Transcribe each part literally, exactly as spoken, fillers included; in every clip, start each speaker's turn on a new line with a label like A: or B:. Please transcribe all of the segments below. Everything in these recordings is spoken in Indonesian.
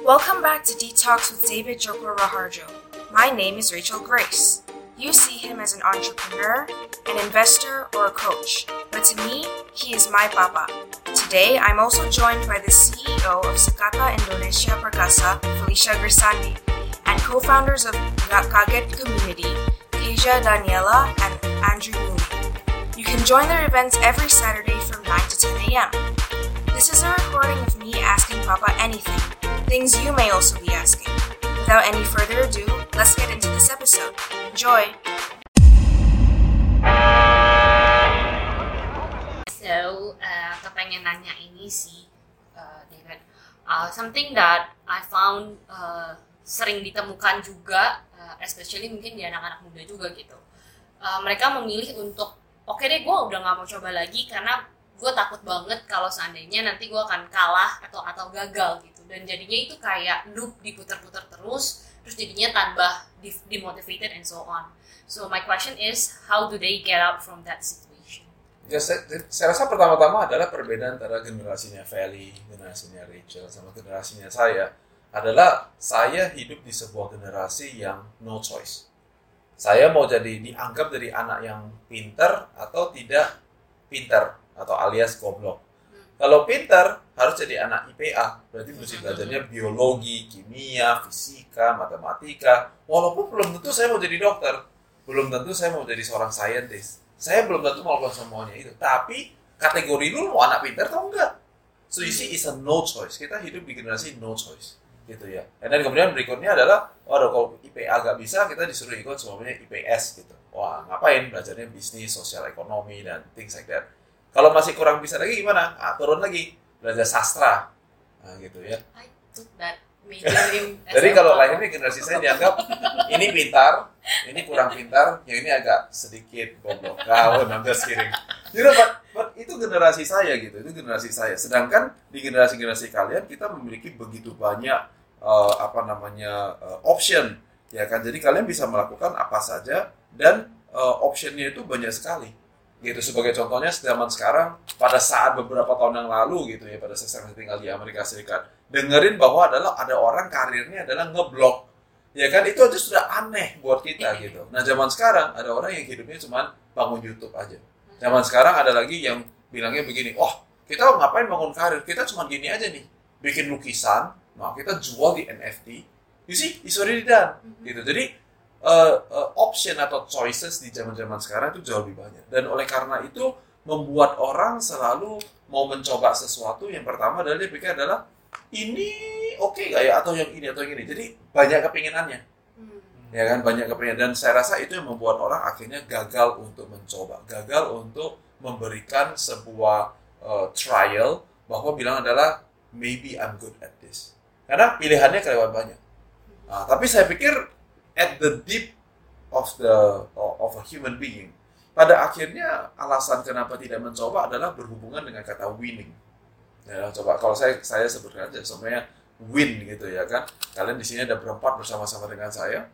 A: Welcome back to Detox with David Joko Raharjo. My name is Rachel Grace. You see him as an entrepreneur, an investor, or a coach, but to me, he is my papa. Today, I'm also joined by the C E O of Sekata Indonesia Perkasa, Felicia Grisandi, and co-founders of Kaget Community, Keja Daniela and Andrew Mooney. You can join their events every Saturday from nine to ten a.m. This is a recording of me asking Papa anything, things you may also be asking. Without any further ado, let's get into this episode. Enjoy!
B: So, uh, kepengen nanya ini sih, uh, David, uh, something that I found uh, sering ditemukan juga, uh, especially mungkin di anak-anak muda juga gitu. Uh, mereka memilih untuk, oke okay deh gue udah gak mau coba lagi karena gue takut banget kalau seandainya nanti gue akan kalah atau atau gagal gitu. Dan jadinya itu kayak loop diputar-putar terus, terus jadinya tambah demotivated and so on. So my question is, how do they get out from that situation?
C: Ya, saya, saya rasa pertama-tama adalah perbedaan antara generasinya Feli, generasinya Rachel, sama generasinya saya. Adalah saya hidup di sebuah generasi yang no choice. Saya mau jadi dianggap dari anak yang pintar atau tidak pintar, atau alias goblok. Hmm. Kalau pintar, harus jadi anak I P A. Berarti mesti belajarnya biologi, kimia, fisika, matematika. Walaupun belum tentu saya mau jadi dokter. Belum tentu saya mau jadi seorang scientist. Saya belum tentu mau melakukan semuanya itu. Tapi kategori lu mau anak pintar atau enggak? So you see, it's a no choice. Kita hidup di generasi no choice. Gitu ya. Dan kemudian berikutnya adalah, waduh kalau I P A gak bisa, kita disuruh ikut semuanya I P S gitu. Wah, ngapain? Belajarnya bisnis, sosial ekonomi, dan things like that. Kalau masih kurang bisa lagi gimana? Ah, turun lagi. Belajar sastra. Nah, gitu ya.
B: I took that major in
C: Jadi kalau lainnya generasi saya dianggap ini pintar, ini kurang pintar, yang ini agak sedikit goblok. Kau nambah kiring. You know, but, but itu generasi saya gitu, itu generasi saya. Sedangkan di generasi-generasi kalian kita memiliki begitu banyak uh, apa namanya uh, option, ya kan? Jadi kalian bisa melakukan apa saja dan uh, optionnya itu banyak sekali. Gitu, sebagai contohnya zaman sekarang, pada saat beberapa tahun yang lalu gitu ya, pada saat saya tinggal di Amerika Serikat, dengerin bahwa adalah ada orang karirnya adalah ngeblog, ya kan, itu aja sudah aneh buat kita gitu. Nah zaman sekarang ada orang yang hidupnya cuma bangun YouTube aja. Zaman sekarang ada lagi yang bilangnya begini, oh kita ngapain bangun karir, kita cuma gini aja nih, bikin lukisan, nah kita jual di N F T, you see, it's already done, gitu. Jadi Uh, uh, option atau choices di zaman-zaman sekarang itu jauh lebih banyak, dan oleh karena itu membuat orang selalu mau mencoba sesuatu. Yang pertama adalah dia pikir adalah ini oke okay gak ya, atau yang ini atau yang ini. Jadi banyak kepinginannya, hmm. ya kan, banyak kepinginan. Dan saya rasa itu yang membuat orang akhirnya gagal untuk mencoba, gagal untuk memberikan sebuah uh, trial bahwa bilang adalah maybe I'm good at this, karena pilihannya kelewat banyak. Nah, tapi saya pikir at the deep of the of a human being, pada akhirnya alasan kenapa tidak mencoba adalah berhubungan dengan kata winning. Ya, coba kalau saya saya sebutkan aja semuanya win gitu ya kan. Kalian di sini ada berempat bersama-sama dengan saya.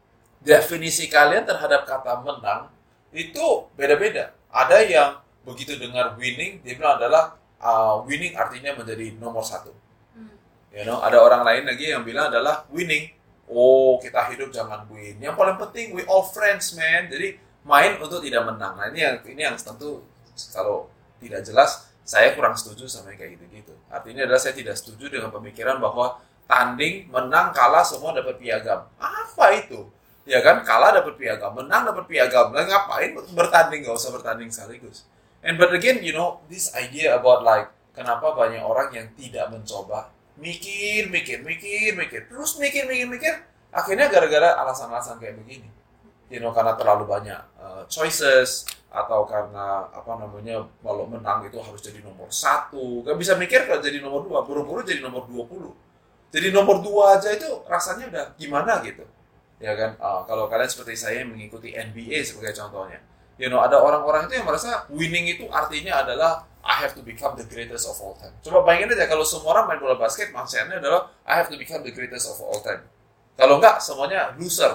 C: Definisi kalian terhadap kata menang itu beda-beda. Ada yang begitu dengar winning, dia bilang adalah uh, winning artinya menjadi nomor satu. Hmm. You know, ada orang lain lagi yang bilang adalah winning, oh kita hidup jangan win. Yang paling penting we all friends man. Jadi main untuk tidak menang. Nah ini yang ini yang tentu kalau tidak jelas saya kurang setuju sama yang kayak gitu-gitu. Artinya adalah saya tidak setuju dengan pemikiran bahwa tanding, menang, kalah semua dapat piagam. Apa itu? Ya kan, kalah dapat piagam, menang dapat piagam. Nah, ngapain bertanding? Gak usah bertanding sekaligus. And but again, you know, this idea about like kenapa banyak orang yang tidak mencoba, mikir, mikir, mikir, mikir, terus mikir, mikir, mikir, akhirnya gara-gara alasan-alasan kayak begini, you know, karena terlalu banyak uh, choices, atau karena apa namanya, kalau menang itu harus jadi nomor satu, gak bisa mikir kalau jadi nomor dua, buru-buru jadi nomor dua puluh, jadi nomor dua aja itu rasanya udah gimana gitu, ya kan, uh, kalau kalian seperti saya yang mengikuti N B A sebagai contohnya, you know, ada orang-orang itu yang merasa winning itu artinya adalah I have to become the greatest of all time. Coba bayangin aja kalau semua orang main bola basket, mindsetnya adalah I have to become the greatest of all time. Kalau enggak, semuanya loser.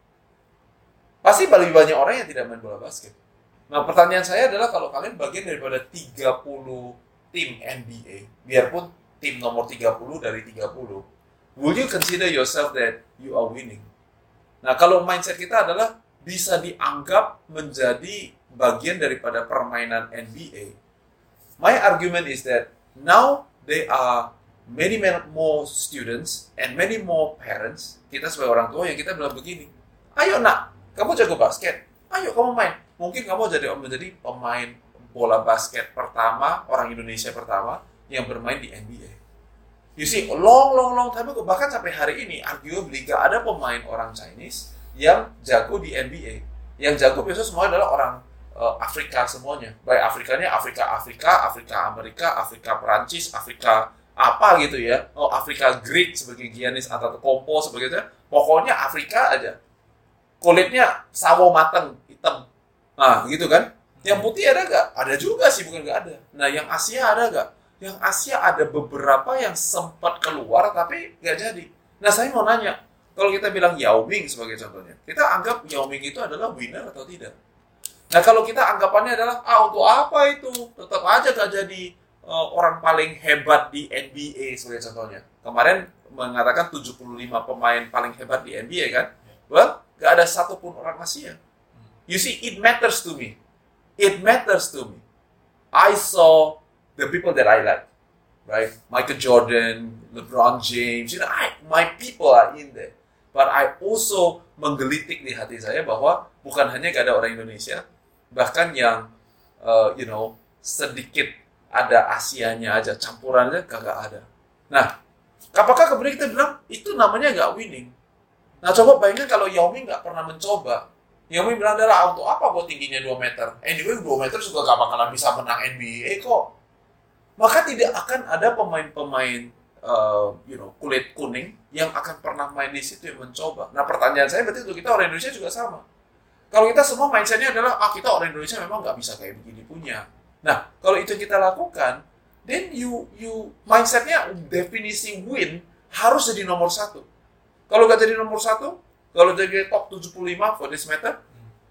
C: Pasti lebih banyak orang yang tidak main bola basket. Nah, pertanyaan saya adalah kalau kalian bagian daripada tiga puluh tim N B A, biarpun tim nomor tiga puluh dari tiga puluh, will you consider yourself that you are winning? Nah, kalau mindset kita adalah bisa dianggap menjadi bagian daripada permainan N B A. My argument is that now there are many, many more students and many more parents, kita sebagai orang tua yang kita bilang begini, ayo nak, kamu jago basket, ayo kamu main. Mungkin kamu jadi menjadi pemain bola basket pertama, orang Indonesia pertama yang bermain di N B A. You see, long, long, long time ago, bahkan sampai hari ini, arguably gak ada pemain orang Chinese yang jago di N B A. Yang jago biasanya semua adalah orang uh, Afrika semuanya. Baik Afrikanya Afrika, Afrika, Afrika Amerika, Afrika Perancis, Afrika apa gitu ya. Oh, Afrika Greek sebagai Giannis Antetokounmpo sebagai itu. Pokoknya Afrika aja. Kulitnya sawo mateng, hitam. Nah, gitu kan. Yang putih ada gak? Ada juga sih, bukan gak ada. Nah, yang Asia ada gak? Yang Asia ada beberapa yang sempat keluar tapi gak jadi. Nah, saya mau nanya, kalau kita bilang Yao Ming sebagai contohnya, kita anggap Yao Ming itu adalah winner atau tidak? Nah, kalau kita anggapannya adalah, ah untuk apa itu? Tetap aja gak jadi uh, orang paling hebat di N B A sebagai contohnya. Kemarin mengatakan tujuh puluh lima pemain paling hebat di N B A kan? Well, gak ada satupun orang Asia. You see, it matters to me. It matters to me. I saw the people that I like, right? Michael Jordan, LeBron James, you know, I, my people are in there. But I also menggelitik di hati saya bahwa bukan hanya gak ada orang Indonesia, bahkan yang, uh, you know, sedikit ada Asianya aja, campurannya gak, gak ada. Nah, apakah kemudian kita bilang, itu namanya gak winning? Nah, coba bayangkan kalau Yao Ming gak pernah mencoba. Yao Ming bilang adalah, untuk apa gue tingginya dua meter? Anyway, dua meter juga gak bakalan bisa menang N B A kok. Maka tidak akan ada pemain-pemain uh, you know, kulit kuning yang akan pernah main di situ yang mencoba. Nah, pertanyaan saya berarti untuk kita orang Indonesia juga sama. Kalau kita semua mindset-nya adalah, ah kita orang Indonesia memang nggak bisa kayak begini punya. Nah, kalau itu yang kita lakukan, then you you mindset-nya definisi win harus jadi nomor satu. Kalau nggak jadi nomor satu, kalau jadi top tujuh puluh lima for this matter,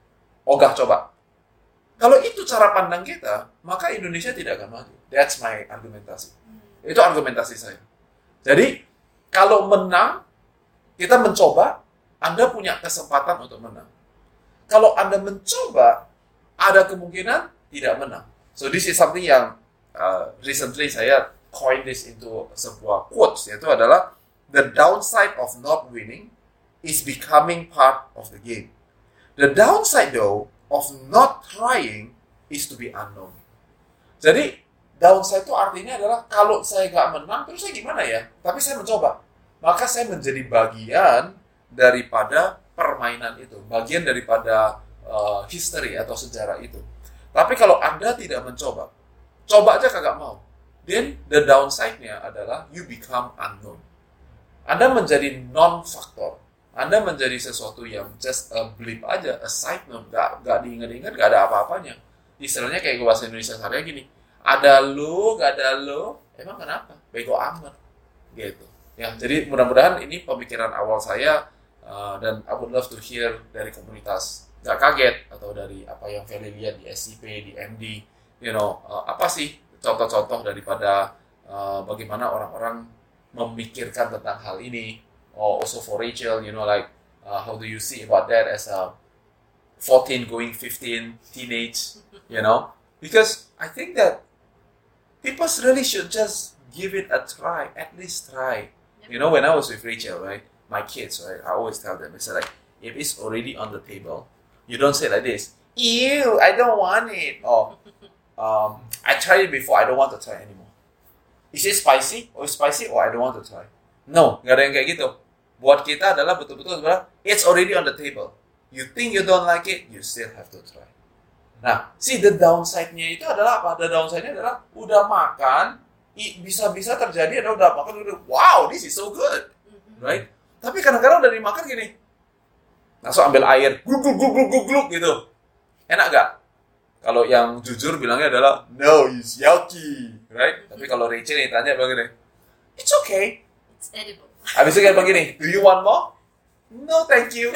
C: ogah coba. Kalau itu cara pandang kita, maka Indonesia tidak akan maju. That's my argumentasi. Itu argumentasi saya. Jadi, kalau menang, kita mencoba, Anda punya kesempatan untuk menang. Kalau Anda mencoba, ada kemungkinan tidak menang. So, this is something yang uh, recently saya coined this into sebuah quotes, yaitu adalah, the downside of not winning is becoming part of the game. The downside, though, of not trying is to be unknown. Jadi, downside itu artinya adalah kalau saya nggak menang, terus saya gimana ya? Tapi saya mencoba. Maka saya menjadi bagian daripada permainan itu. Bagian daripada uh, history atau sejarah itu. Tapi kalau Anda tidak mencoba, coba aja kagak mau. Then, the downside-nya adalah you become unknown. Anda menjadi non-faktor. Anda menjadi sesuatu yang just a blip aja, a side note, gak, gak diingat-ingat, gak ada apa-apanya. Istilahnya kayak bahasa Indonesia sehari gini, ada lu, gak ada lu, emang kenapa? Bego amat, gitu. Ya, jadi mudah-mudahan ini pemikiran awal saya, uh, dan I would love to hear dari komunitas gak kaget, atau dari apa yang Feli lihat di S C P, di M D, you know, uh, apa sih contoh-contoh daripada uh, bagaimana orang-orang memikirkan tentang hal ini. Or also for Rachel, you know, like, uh, how do you see about that as a fourteen going fifteen teenage, you know? Because I think that people really should just give it a try, at least try. Yep. You know, when I was with Rachel, right, my kids, right, I always tell them, I say like, if it's already on the table, you don't say like this, ew, I don't want it, or um, I tried it before, I don't want to try anymore. Is it spicy? Or spicy? Or I don't want to try. No, nggak ada yang kayak gitu. Buat kita adalah betul-betul sebenarnya it's already on the table. You think you don't like it, you still have to try. Nah, see the downside-nya itu adalah apa? The downside-nya adalah udah makan, bisa-bisa terjadi ada udah makan, udah, wow, this is so good, right? Tapi kadang-kadang udah dimakan gini, langsung ambil air, gluk gluk gluk gluk gluk gitu. Enak gak? Kalau yang jujur bilangnya adalah no, it's yucky, right? Tapi kalau Rachel yang tanya begini, it's okay.
B: It's edible.
C: Habis itu kayak begini, do you want more? No, thank you.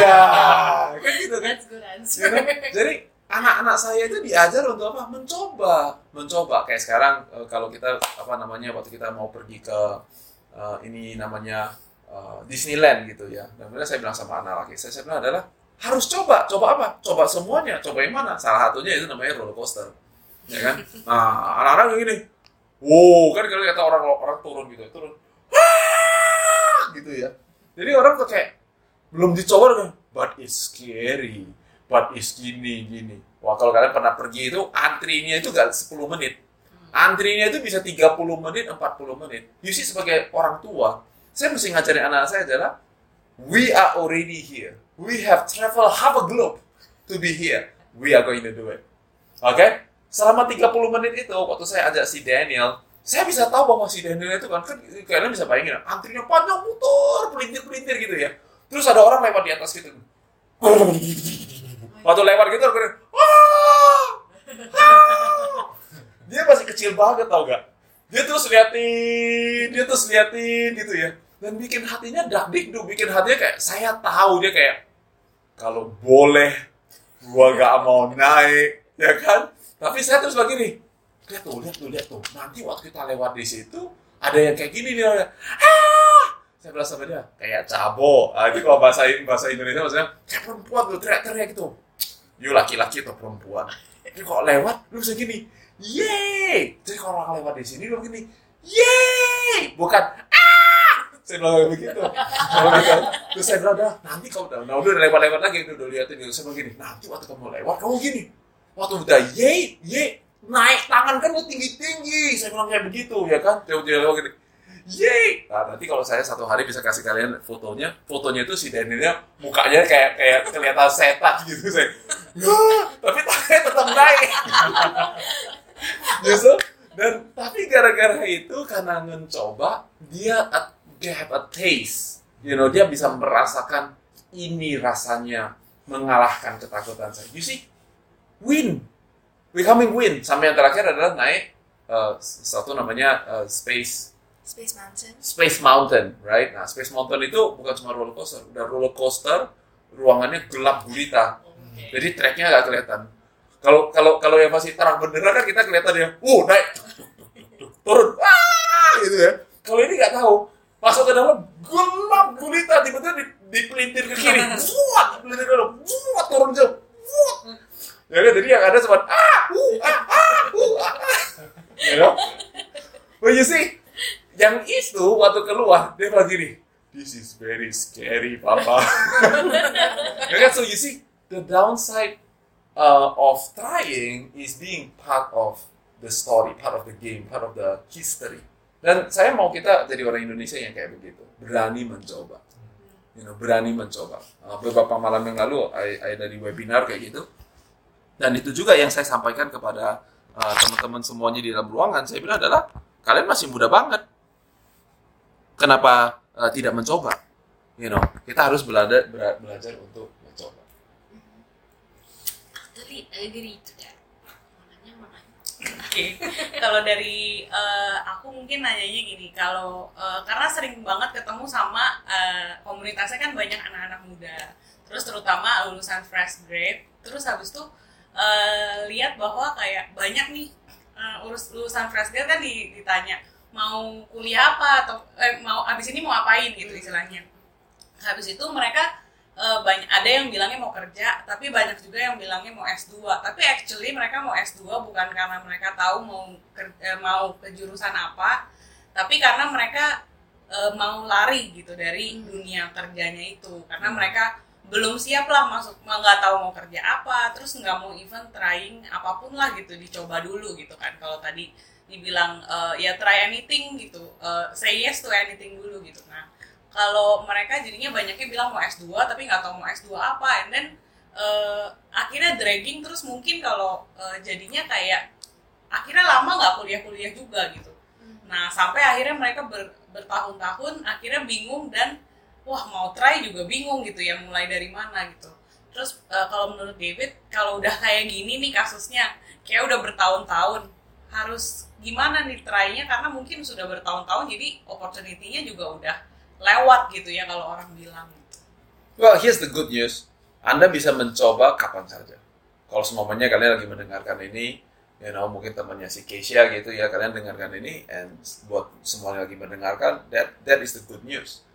C: Ya, kan gitu kan?
B: That's good answer.
C: You know? Jadi anak-anak saya itu diajar untuk apa? Mencoba, mencoba. Kayak sekarang kalau kita apa namanya waktu kita mau pergi ke uh, ini namanya uh, Disneyland gitu ya. Dan kemudian saya bilang sama anak laki saya, saya bilang adalah harus coba, coba apa? Coba semuanya, coba yang mana? Salah satunya itu namanya roller coaster, ya kan? Nah, anak-anak gini, wow, kan kalau kata orang orang turun gitu, turun, wah, gitu ya. Jadi orang tuh kayak belum dicoba kan, but it's scary, but it's gini gini. Wah, kalau kalian pernah pergi itu antrinya itu gak sepuluh menit, antrinya itu bisa tiga puluh menit, empat puluh menit. You see, sebagai orang tua, saya mesti ngajarin anak saya adalah, we are already here. We have traveled half a globe to be here. We are going to do it. Oke? Okay? Selama tiga puluh menit itu, waktu saya ajak si Daniel, saya bisa tahu bahwa si Daniel itu kan, kan kalian bisa bayangin, antrinya panjang, muter, pelintir-pelintir gitu ya. Terus ada orang lewat di atas gitu. Waktu lewat gitu, aku bilang, wah! Dia masih kecil banget, tau gak? Dia terus liatin, dia terus liatin gitu ya. Dan bikin hatinya dak-dikduk, bikin hatinya kayak, saya tahu dia kayak, kalau boleh, gua gak mau naik, ya kan? Tapi saya terus begini, lihat tuh, lihat tuh, lihat tuh. Nanti waktu kita lewat di situ, ada yang kayak gini nih, ah! Saya bilang sama dia, kayak cabo. Ah, itu kalau bahasa bahasa Indonesia maksudnya, kayak perempuan tuh, teriak-teriak gitu. You laki-laki atau perempuan. Jadi kalau lewat, lu bisa gini, yeay! Jadi kalau orang lewat di sini, lu begini, yeay! Bukan, saya bilang begitu. Terus saya bilang, dah, nanti kamu udah, nah, udah lewat-lewat lagi, udah liatin gitu. Saya bilang gini, nanti waktu kamu lewat, kamu gini. Waktu udah yeay, yeay, naik tangan kan udah tinggi-tinggi. Saya bilang kayak begitu, ya kan? Dia lewat gini, yeay. Nah, nanti kalau saya satu hari bisa kasih kalian fotonya, fotonya itu si Danielnya, mukanya kayak kayak kelihatan setan gitu. Saya, tapi tangannya tetap naik. Justru, dan tapi gara-gara itu, karena mencoba, dia dia have a taste, you know, dia bisa merasakan ini rasanya mengalahkan ketakutan saya. You see, win, becoming win. Sampai yang terakhir adalah naik uh, satu namanya uh, space
A: Space Mountain.
C: Space Mountain, right? Nah, Space Mountain itu bukan cuma roller coaster, udah roller coaster, ruangannya gelap gulita, okay. Jadi tracknya nggak kelihatan. Kalau kalau kalau yang masih terang benderang kan kita kelihatan ya, uh naik, turun, wah, gitu ya. Kalau ini nggak tahu. Masuk ke dalam, gelap gulita, tiba-tiba dipelintir ke kiri, buat, pelintir ke dalam, buat, turun jauh, buat. Ya kan, jadi yang ada cuma, ah, uh, ah, ah, uh, ah, you know? Well, you see, yang itu waktu keluar, dia bilang gini, this is very scary, Papa. Ya kan, so you see, the downside uh, of trying is being part of the story, part of the game, part of the history. Dan saya mau kita jadi orang Indonesia yang kayak begitu, berani mencoba, you know, berani mencoba. Uh, beberapa malam yang lalu, saya dari webinar kayak gitu, dan itu juga yang saya sampaikan kepada uh, teman-teman semuanya di dalam ruangan. Saya bilang adalah kalian masih muda banget, kenapa uh, tidak mencoba? You know, kita harus belajar belajar untuk mencoba.
B: Totally agree to that.
D: Oke, okay. Kalau dari uh, aku mungkin nanyanya gini, kalau uh, karena sering banget ketemu sama uh, komunitasnya kan banyak anak-anak muda, terus terutama lulusan fresh grade, terus habis itu uh, lihat bahwa kayak banyak nih uh, urus lulusan fresh grade kan ditanya mau kuliah apa atau eh, mau abis ini mau apain gitu istilahnya. Habis itu mereka Uh, banyak ada yang bilangnya mau kerja, tapi banyak juga yang bilangnya mau S dua. Tapi actually mereka mau S dua bukan karena mereka tahu mau ke, eh, mau ke jurusan apa, tapi karena mereka uh, mau lari gitu dari dunia kerjanya itu. Karena mereka belum siap lah masuk, nggak tahu mau kerja apa, terus nggak mau even trying apapun lah gitu, dicoba dulu gitu kan. Kalau tadi dibilang uh, ya try anything gitu, uh, say yes to anything dulu gitu. Nah, kalau mereka jadinya banyaknya bilang mau S dua tapi nggak tahu mau S dua apa, and then uh, akhirnya dragging terus mungkin kalau uh, jadinya kayak akhirnya lama nggak kuliah-kuliah juga gitu. Nah sampai akhirnya mereka ber, bertahun-tahun akhirnya bingung dan wah mau try juga bingung gitu ya, mulai dari mana gitu. Terus uh, kalau menurut David, kalau udah kayak gini nih kasusnya, kayak udah bertahun-tahun, harus gimana nih try-nya, karena mungkin sudah bertahun-tahun jadi opportunity-nya juga udah lewat gitu ya kalau orang bilang.
C: Well, here's the good news. Anda bisa mencoba kapan saja. Kalau semuanya kalian lagi mendengarkan ini, you know, mungkin temannya si Keisha gitu ya, kalian dengarkan ini, and buat semuanya lagi mendengarkan, that that is the good news.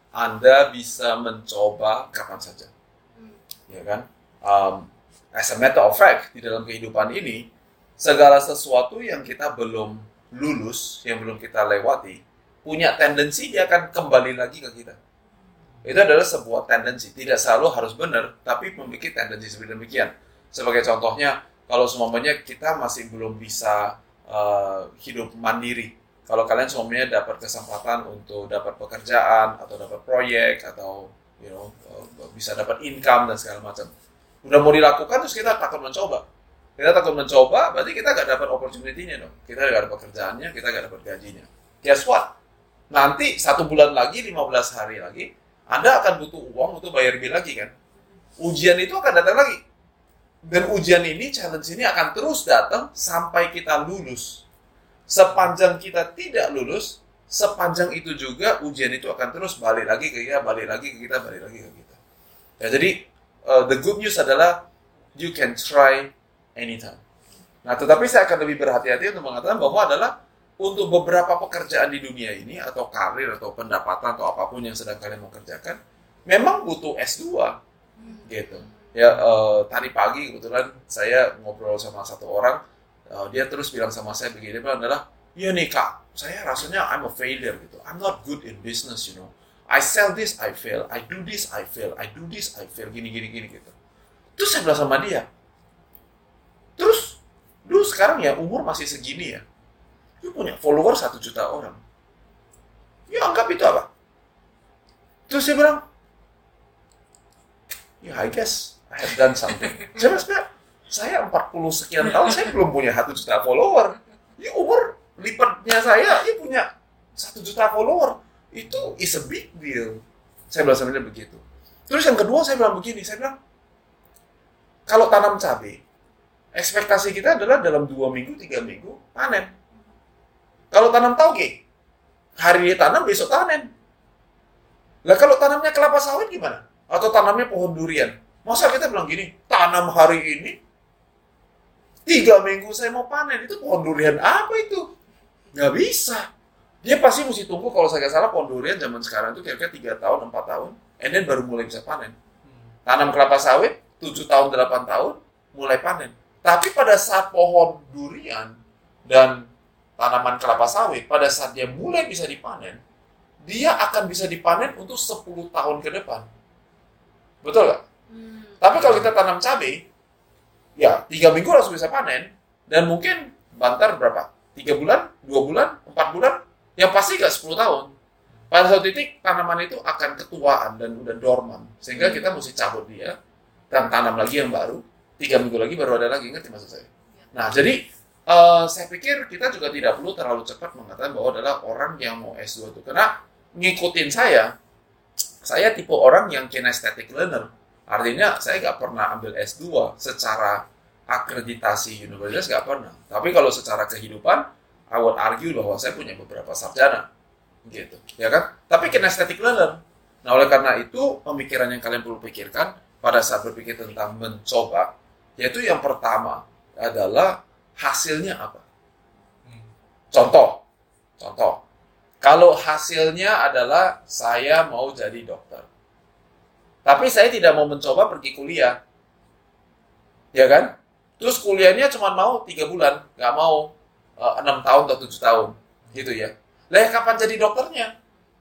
C: Anda bisa mencoba kapan saja, ya kan? Um, as a matter of fact, di dalam kehidupan ini, segala sesuatu yang kita belum lulus, yang belum kita lewati, punya tendensi dia akan kembali lagi ke kita. Itu adalah sebuah tendensi, tidak selalu harus benar, tapi memiliki tendensi seperti demikian. Sebagai contohnya, kalau semuanya kita masih belum bisa uh, hidup mandiri, kalau kalian semuanya dapat kesempatan untuk dapat pekerjaan atau dapat proyek atau you know uh, bisa dapat income dan segala macam, udah mau dilakukan terus kita takut mencoba. Kita takut mencoba, berarti kita gak dapat opportunity-nya dong. Kita gak dapat pekerjaannya, kita gak dapat gajinya. Guess what? Nanti satu bulan lagi, lima belas hari lagi, Anda akan butuh uang untuk bayar bill lagi kan? Ujian itu akan datang lagi. Dan ujian ini, challenge ini akan terus datang sampai kita lulus. Sepanjang kita tidak lulus, sepanjang itu juga ujian itu akan terus balik lagi ke kita, balik lagi ke kita, balik lagi ke kita. Ya, jadi, uh, the good news adalah you can try anytime. Nah, tetapi saya akan lebih berhati-hati untuk mengatakan bahwa adalah untuk beberapa pekerjaan di dunia ini, atau karir, atau pendapatan, atau apapun yang sedang kalian mau kerjakan, memang butuh S dua. Gitu. Ya, uh, tadi pagi kebetulan saya ngobrol sama satu orang, Uh, dia terus bilang sama saya begini, dia adalah, ya nih kak, saya rasanya I'm a failure gitu. I'm not good in business, you know. I sell this, I fail. I do this, I fail. I do this, I fail. Gini, gini, gini gitu. Terus saya bilang sama dia, terus, lu sekarang ya umur masih segini ya, lu punya follower satu juta orang. Ya anggap itu apa? Terus saya bilang, ya I guess I have done something. Saya bilang, saya empat puluh sekian tahun, saya belum punya satu juta follower. Ya umur lipatnya saya, ya punya satu juta follower. Itu is a big deal. Saya bilang sama dia begitu. Terus yang kedua saya bilang begini, saya bilang, kalau tanam cabai, ekspektasi kita adalah dalam dua minggu, tiga minggu, panen. Kalau tanam tauge, hari ini tanam, besok panen. Lah kalau tanamnya kelapa sawit gimana? Atau tanamnya pohon durian? Masa kita bilang gini, tanam hari ini, tiga minggu saya mau panen, itu pohon durian apa itu? Nggak bisa. Dia pasti mesti tunggu, kalau saya nggak salah, pohon durian zaman sekarang itu kira-kira tiga tahun, empat tahun, and then baru mulai bisa panen. Tanam kelapa sawit, tujuh tahun, delapan tahun, mulai panen. Tapi pada saat pohon durian dan tanaman kelapa sawit, pada saat dia mulai bisa dipanen, dia akan bisa dipanen untuk sepuluh tahun ke depan. Betul nggak? Hmm. Tapi kalau kita tanam cabai, ya tiga minggu langsung bisa panen, dan mungkin bantar berapa? Tiga bulan, dua bulan, empat bulan, yang pasti nggak sepuluh tahun. Pada suatu titik tanaman itu akan ketuaan dan udah dorman, sehingga kita mesti cabut dia dan tanam lagi yang baru. Tiga minggu lagi baru ada lagi, ngerti maksud saya? Nah, jadi uh, saya pikir kita juga tidak perlu terlalu cepat mengatakan bahwa adalah orang yang mau S dua itu, karena ngikutin saya, saya tipe orang yang kinesthetic learner. Artinya saya nggak pernah ambil S dua secara akreditasi universitas, nggak pernah. Tapi kalau secara kehidupan, I would argue bahwa saya punya beberapa sarjana, gitu, ya kan? Tapi kinesthetic learner. Nah, oleh karena itu pemikiran yang kalian perlu pikirkan pada saat berpikir tentang mencoba, yaitu yang pertama adalah hasilnya apa. Contoh, contoh. Kalau hasilnya adalah saya mau jadi dokter, tapi saya tidak mau mencoba pergi kuliah, ya kan? Terus kuliahnya cuma mau tiga bulan, nggak mau uh, enam tahun atau tujuh tahun, gitu ya. Lah kapan jadi dokternya?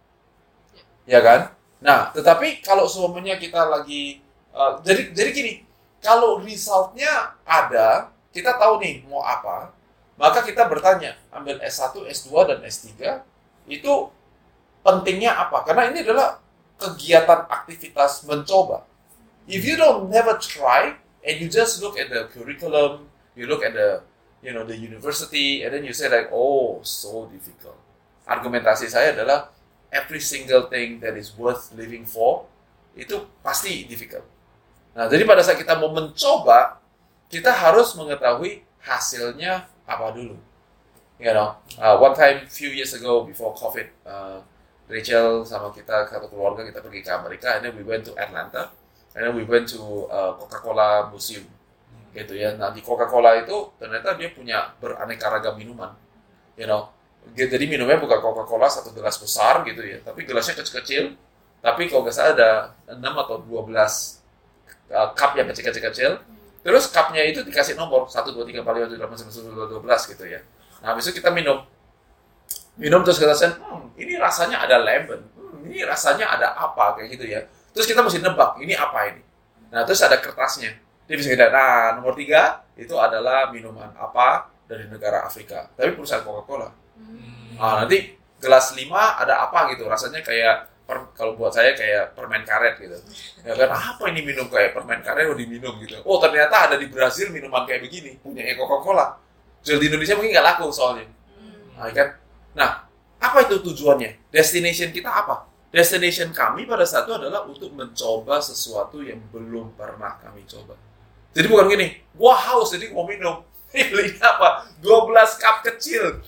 C: Ya kan? Nah, tetapi kalau semuanya kita lagi, uh, jadi jadi gini, kalau resultnya ada, kita tahu nih mau apa, maka kita bertanya, ambil S satu, S dua, dan S tiga, itu pentingnya apa? Karena ini adalah kegiatan aktivitas mencoba. If you don't never try and you just look at the curriculum, you look at the you know the university, and then you say like, oh, so difficult. Argumentasi saya adalah every single thing that is worth living for itu pasti difficult. Nah, jadi pada saat kita mau mencoba, kita harus mengetahui hasilnya apa dulu. You know, uh, one time few years ago before COVID, uh, Rachel sama kita satu keluarga kita pergi ke Amerika, and then we went to Atlanta, and then we went to uh, Coca-Cola Museum, gitu ya. Nah, di Coca-Cola itu ternyata dia punya beraneka ragam minuman, you know. Jadi minumnya bukan Coca-Cola satu gelas besar gitu ya, tapi gelasnya kecil-kecil, Tapi kalau nggak salah ada enam atau dua belas uh, cup yang kecil-kecil-kecil. Terus cupnya itu dikasih nomor satu, dua, tiga, empat, lima, tujuh, delapan, sembilan, sepuluh, dua belas gitu ya. Nah, habis itu kita minum. Minum terus kita rasain, hmm, ini rasanya ada lemon. Hmm, ini rasanya ada apa, kayak gitu ya. Terus kita mesti nebak, ini apa ini. Nah, terus ada kertasnya. Dia bisa kita, nah, nomor tiga, itu adalah minuman apa dari negara Afrika. Tapi perusahaan Coca-Cola. Hmm. Nah, nanti gelas lima ada apa gitu. Rasanya kayak, per, kalau buat saya kayak permen karet gitu. Ya kan, apa ini minum kayak permen karet, oh diminum gitu. Oh, ternyata ada di Brazil minuman kayak begini. Punya Coca-Cola. Jual di Indonesia mungkin nggak laku soalnya. Nah, kan? Nah, apa itu tujuannya? Destination kita apa? Destination kami pada saat itu adalah untuk mencoba sesuatu yang belum pernah kami coba. Jadi bukan gini, gua haus jadi mau minum. Belinya apa? dua belas cup kecil.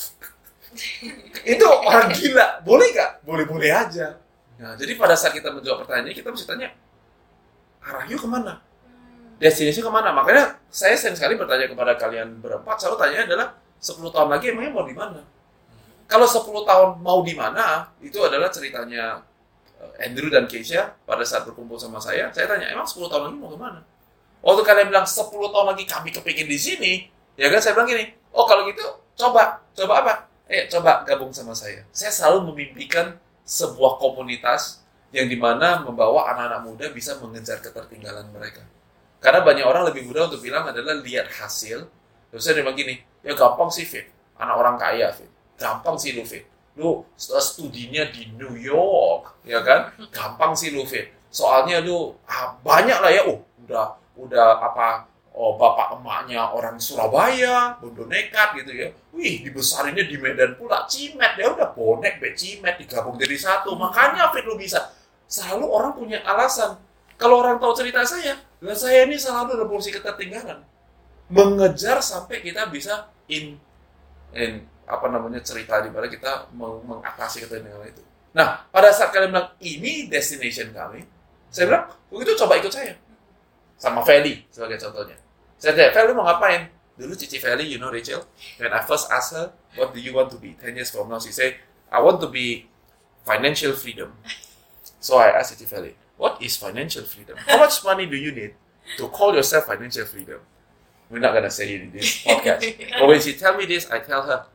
C: Itu orang gila. Boleh nggak? Boleh-boleh aja. Nah, jadi pada saat kita menjawab pertanyaan ini, kita mesti tanya, arah yuk kemana? Destinasi kemana? Makanya saya sering sekali bertanya kepada kalian berempat, selalu tanya adalah, sepuluh tahun lagi emangnya mau di mana? Kalau sepuluh tahun mau di mana, itu adalah ceritanya Andrew dan Keisha pada saat berkumpul sama saya. Saya tanya, emang sepuluh tahun lagi mau kemana? Waktu kalian bilang sepuluh tahun lagi kami kepingin di sini, ya kan saya bilang gini, oh kalau gitu coba, coba apa? Eh coba gabung sama saya. Saya selalu memimpikan sebuah komunitas yang dimana membawa anak-anak muda bisa mengejar ketertinggalan mereka. Karena banyak orang lebih mudah untuk bilang adalah lihat hasil. Terus saya bilang gini, ya gampang sih Fit, anak orang kaya Fit. Gampang sih lu Fit. Lu studinya di New York, ya kan? Gampang sih lu Fit. Soalnya lu ah, banyak lah ya, oh udah udah apa oh bapak emaknya orang Surabaya, bondo nekat gitu ya. Wih, dibesarinnya di Medan pula, Cimet ya udah bonek be Cimet digabung jadi satu. Makanya Fit lu bisa. Selalu orang punya alasan. Kalau orang tahu cerita saya, dan saya ini selalu dalam posisi ketertinggalan. Mengejar sampai kita bisa in in apa namanya cerita di mana kita meng- mengatasi ketertinggalan itu. Nah, pada saat kalian bilang ini destination kami, saya bilang, begitu coba ikut saya. Sama Feli sebagai contohnya. Saya tanya, Feli mau ngapain? Dulu Cici Feli, you know Rachel, when I first asked her, what do you want to be ten years from now? She said, I want to be financial freedom. So I asked Cici Feli, what is financial freedom? How much money do you need to call yourself financial freedom? We're not going to say it in this podcast. But when she tell me this, I tell her,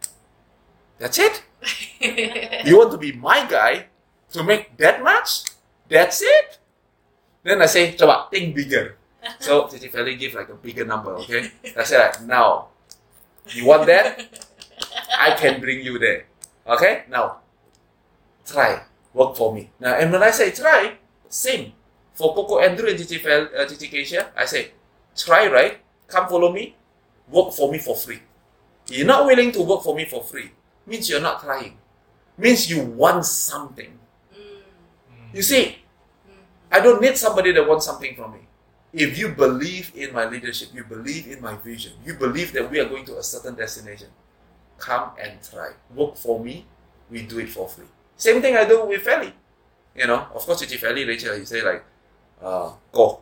C: that's it? You want to be my guy to make that much? That's it? Then I say, coba, think bigger. So, Cici Feli give like a bigger number, okay? I say like, now, you want that? I can bring you there. Okay? Now, try. Work for me. Now, and when I say try, same. For Coco Andrew and Cici, Fel, uh, Cici Keisha, I say, try, right? Come follow me. Work for me for free. You're not willing to work for me for free. Means you're not trying. Means you want something. You see, I don't need somebody that wants something from me. If you believe in my leadership, you believe in my vision, you believe that we are going to a certain destination, come and try. Work for me, we do it for free. Same thing I do with Feli. You know, of course, Cici Feli, Rachel, you say like, uh, go.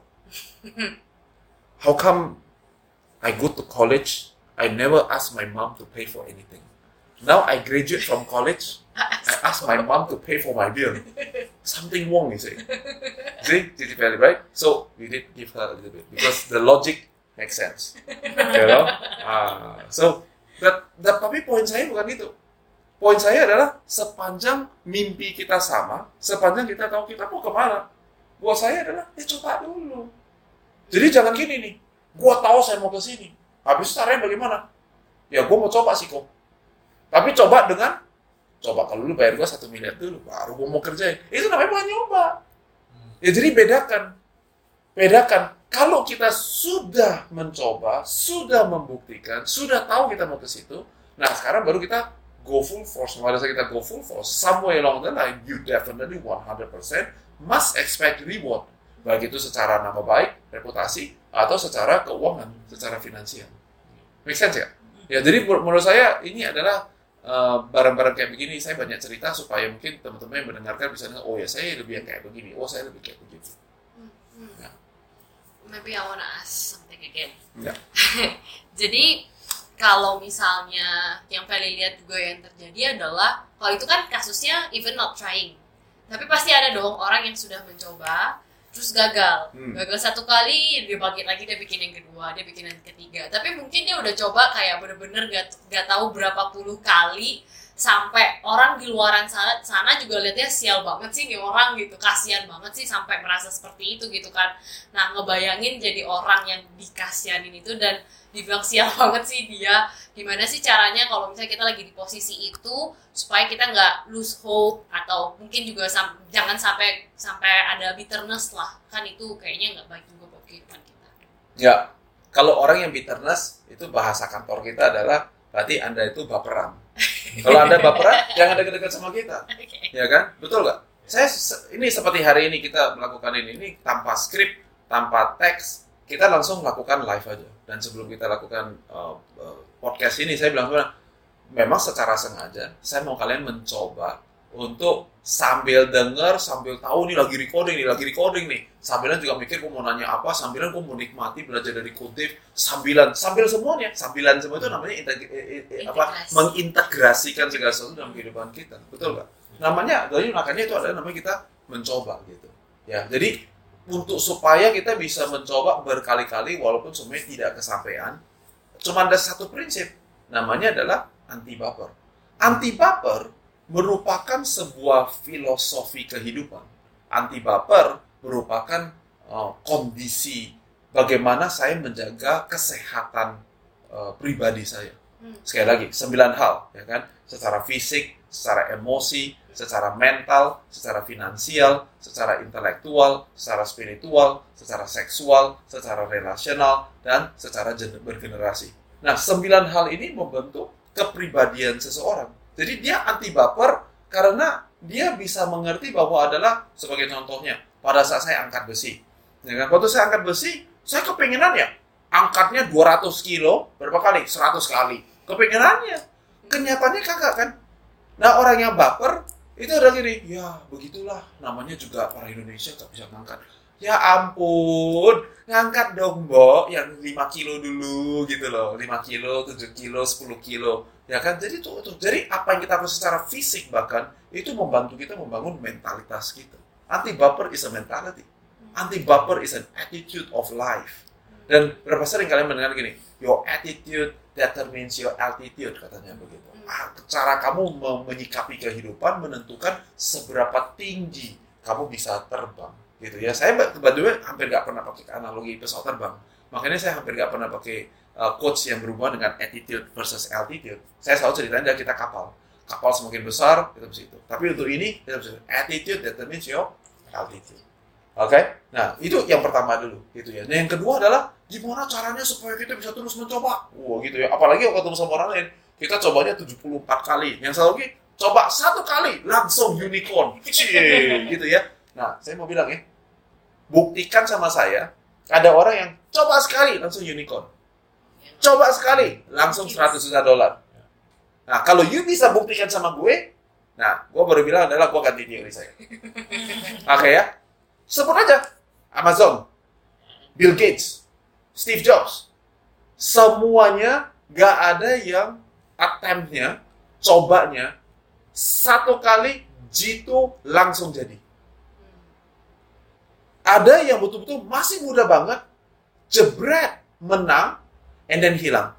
C: How come I go to college, I never ask my mom to pay for anything? Now I graduate from college, I ask my mom to pay for my bill. Something wrong, you say. See, Cici Feli, right? So we did give her a little bit because the logic makes sense. You know? Uh, so, but, but, tapi poin saya bukan itu. Poin saya adalah sepanjang mimpi kita sama, sepanjang kita tahu kita mau kemana, buat saya adalah, ya coba dulu. Jadi jangan gini nih, gua tahu saya mau ke sini. Habis caranya bagaimana? Ya gua mau coba sih kok. Tapi coba dengan, coba kalau lu bayar gua satu miliar dulu, baru gua mau kerjain. Itu namanya bukan nyoba. Ya jadi bedakan. Bedakan. Kalau kita sudah mencoba, sudah membuktikan, sudah tahu kita mau ke situ, nah sekarang baru kita go full force. Pada saat kita go full force, somewhere along the line, you definitely one hundred percent must expect reward. Baik itu secara nama baik, reputasi, atau secara keuangan, secara finansial. Make sense ya? Ya, jadi menurut saya ini adalah uh, barang-barang kayak begini, saya banyak cerita supaya mungkin teman-teman yang mendengarkan bisa dengar, oh ya saya lebih yang kayak begini, oh saya lebih kayak begitu.
B: Hmm. Ya. Maybe I wanna ask something again.
C: Ya.
B: Jadi kalau misalnya yang Feli lihat juga yang terjadi adalah kalau itu kan kasusnya even not trying. Tapi pasti ada dong orang yang sudah mencoba terus gagal, hmm. gagal satu kali, dia bangkit lagi, dia bikin yang kedua, dia bikin yang ketiga. Tapi mungkin dia udah coba kayak bener-bener gak, gak tahu berapa puluh kali, sampai orang di luaran sana, sana juga lihatnya sial banget sih nih orang gitu, kasihan banget sih sampai merasa seperti itu gitu kan. Nah ngebayangin jadi orang yang dikasihanin itu dan dibilang sial banget sih dia, gimana sih caranya kalau misalnya kita lagi di posisi itu supaya kita nggak lose hope, atau mungkin juga sam- jangan sampai sampai ada bitterness lah, kan itu kayaknya nggak baik juga buat kehidupan kita.
C: Ya, kalau orang yang bitterness itu bahasa kantor kita adalah berarti Anda itu baperan. Kalau Anda baperan, jangan dekat-dekat sama kita, okay. Ya kan? Betul nggak? Saya ini seperti hari ini kita melakukan ini, ini tanpa skrip, tanpa teks, kita langsung melakukan live aja. Dan sebelum kita lakukan uh, uh, podcast ini, saya bilang memang secara sengaja saya mau kalian mencoba untuk sambil denger, sambil tahu nih lagi recording nih, lagi recording nih, sambilan juga mikir gue mau nanya apa, sambilan gue mau nikmati belajar dari kutip, sambilan, sambil semuanya, sambilan semua itu namanya integ- eh, eh, apa, mengintegrasikan segala sesuatu dalam kehidupan kita, betul nggak? Namanya, dari makanya itu adalah namanya kita mencoba gitu, ya. Jadi untuk supaya kita bisa mencoba berkali-kali walaupun semuanya tidak kesampaian, cuma ada satu prinsip, namanya adalah anti baper. Anti baper merupakan sebuah filosofi kehidupan. Anti baper merupakan uh, kondisi bagaimana saya menjaga kesehatan uh, pribadi saya. Sekali lagi, sembilan hal, ya kan? Secara fisik, secara emosi, secara mental, secara finansial, secara intelektual, secara spiritual, secara seksual, secara relasional, dan secara bergenerasi. Nah, sembilan hal ini membentuk kepribadian seseorang. Jadi dia anti baper karena dia bisa mengerti bahwa adalah, sebagai contohnya, pada saat saya angkat besi. Ya kan? Waktu saya angkat besi, saya kepengenan ya, angkatnya dua ratus kilo, berapa kali? seratus kali. Kepengenannya. Kenyataannya kagak kan? Nah, orang yang baper, itu ada gini, ya begitulah, namanya juga orang Indonesia gak bisa ngangkat. Ya ampun, ngangkat dong mbok, yang lima kilo dulu gitu loh, lima kilo, tujuh kilo, sepuluh kilo. Ya kan, jadi tuh, tuh, jadi apa yang kita lakukan secara fisik bahkan, itu membantu kita membangun mentalitas kita. Anti baper is a mentality. Anti baper is an attitude of life. Dan berapa sering kalian mendengar gini, your attitude determines your altitude, katanya begitu. Cara kamu menyikapi kehidupan menentukan seberapa tinggi kamu bisa terbang, gitu ya. Saya kebetulan hampir nggak pernah pakai analogi pesawat terbang, makanya saya hampir nggak pernah pakai uh, quotes yang berhubungan dengan attitude versus altitude. Saya selalu ceritain dari kita kapal, kapal semakin besar kita bisa itu. Tapi untuk ini kita bisa attitude determines your altitude. Oke, okay? Nah itu yang pertama dulu, gitu ya. Nah yang kedua adalah gimana caranya supaya kita bisa terus mencoba, wah gitu ya. Apalagi kalau ketemu sama orang lain, kita cobanya tujuh puluh empat kali. Yang satu lagi, coba satu kali, langsung unicorn. Cie, gitu ya. Nah, saya mau bilang ya, buktikan sama saya, ada orang yang coba sekali, langsung unicorn. Coba sekali, langsung seratus juta dolar. Nah, kalau you bisa buktikan sama gue, nah, gue baru bilang adalah gue ganti teori saya. Oke okay, ya. Sebut aja, Amazon, Bill Gates, Steve Jobs. Semuanya gak ada yang attempt-nya, cobanya, satu kali jitu langsung jadi. Ada yang betul-betul masih muda banget, jebret, menang, and then hilang.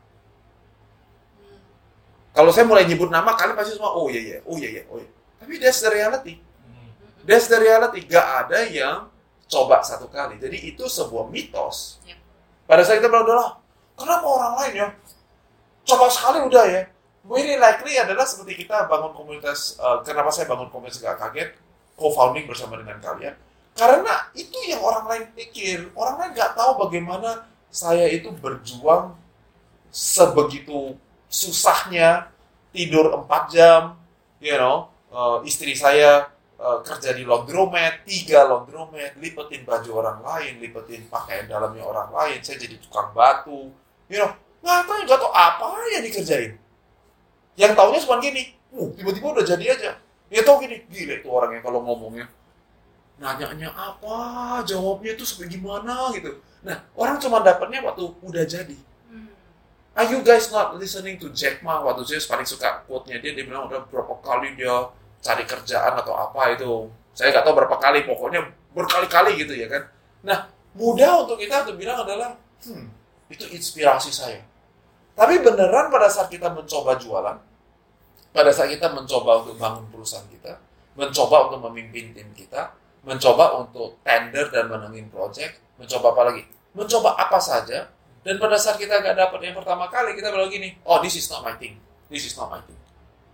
C: Kalau saya mulai nyebut nama, kalian pasti semua, oh iya iya, oh iya iya, oh iya. Tapi that's the reality. That's the reality. Gak ada yang coba satu kali. Jadi itu sebuah mitos. Pada saat kita bilang, udah kenapa orang lain ya coba sekali udah ya. Very likely adalah seperti kita bangun komunitas, uh, kenapa saya bangun komunitas Gak Kaget, co-founding bersama dengan kalian. Karena itu yang orang lain pikir. Orang lain gak tahu bagaimana saya itu berjuang sebegitu susahnya, tidur empat jam, you know, uh, istri saya uh, kerja di laundromat, tiga laundromat, lipetin baju orang lain, lipetin pakaian dalamnya orang lain, saya jadi tukang batu, you know, nggak tahu, nggak tahu apa yang dikerjain. Yang taunya cuma gini, uh, tiba-tiba udah jadi aja. Ya tau gini, gila itu orangnya kalau ngomongnya. Nanya-nanya apa, jawabnya itu sampai gimana gitu. Nah, orang cuma dapatnya waktu udah jadi. Are you guys not listening to Jack Ma? Waktu saya paling suka quote-nya dia, dia bilang udah berapa kali dia cari kerjaan atau apa itu, Saya nggak tahu berapa kali, pokoknya berkali-kali gitu ya kan. Nah, mudah untuk kita untuk bilang adalah, hmm, itu inspirasi saya. Tapi beneran pada saat kita mencoba jualan, pada saat kita mencoba untuk bangun perusahaan kita, mencoba untuk memimpin tim kita, mencoba untuk tender dan menangin project, mencoba apa lagi? Mencoba apa saja, dan pada saat kita nggak dapat yang pertama kali, kita bilang gini, oh this is not my thing, this is not my thing.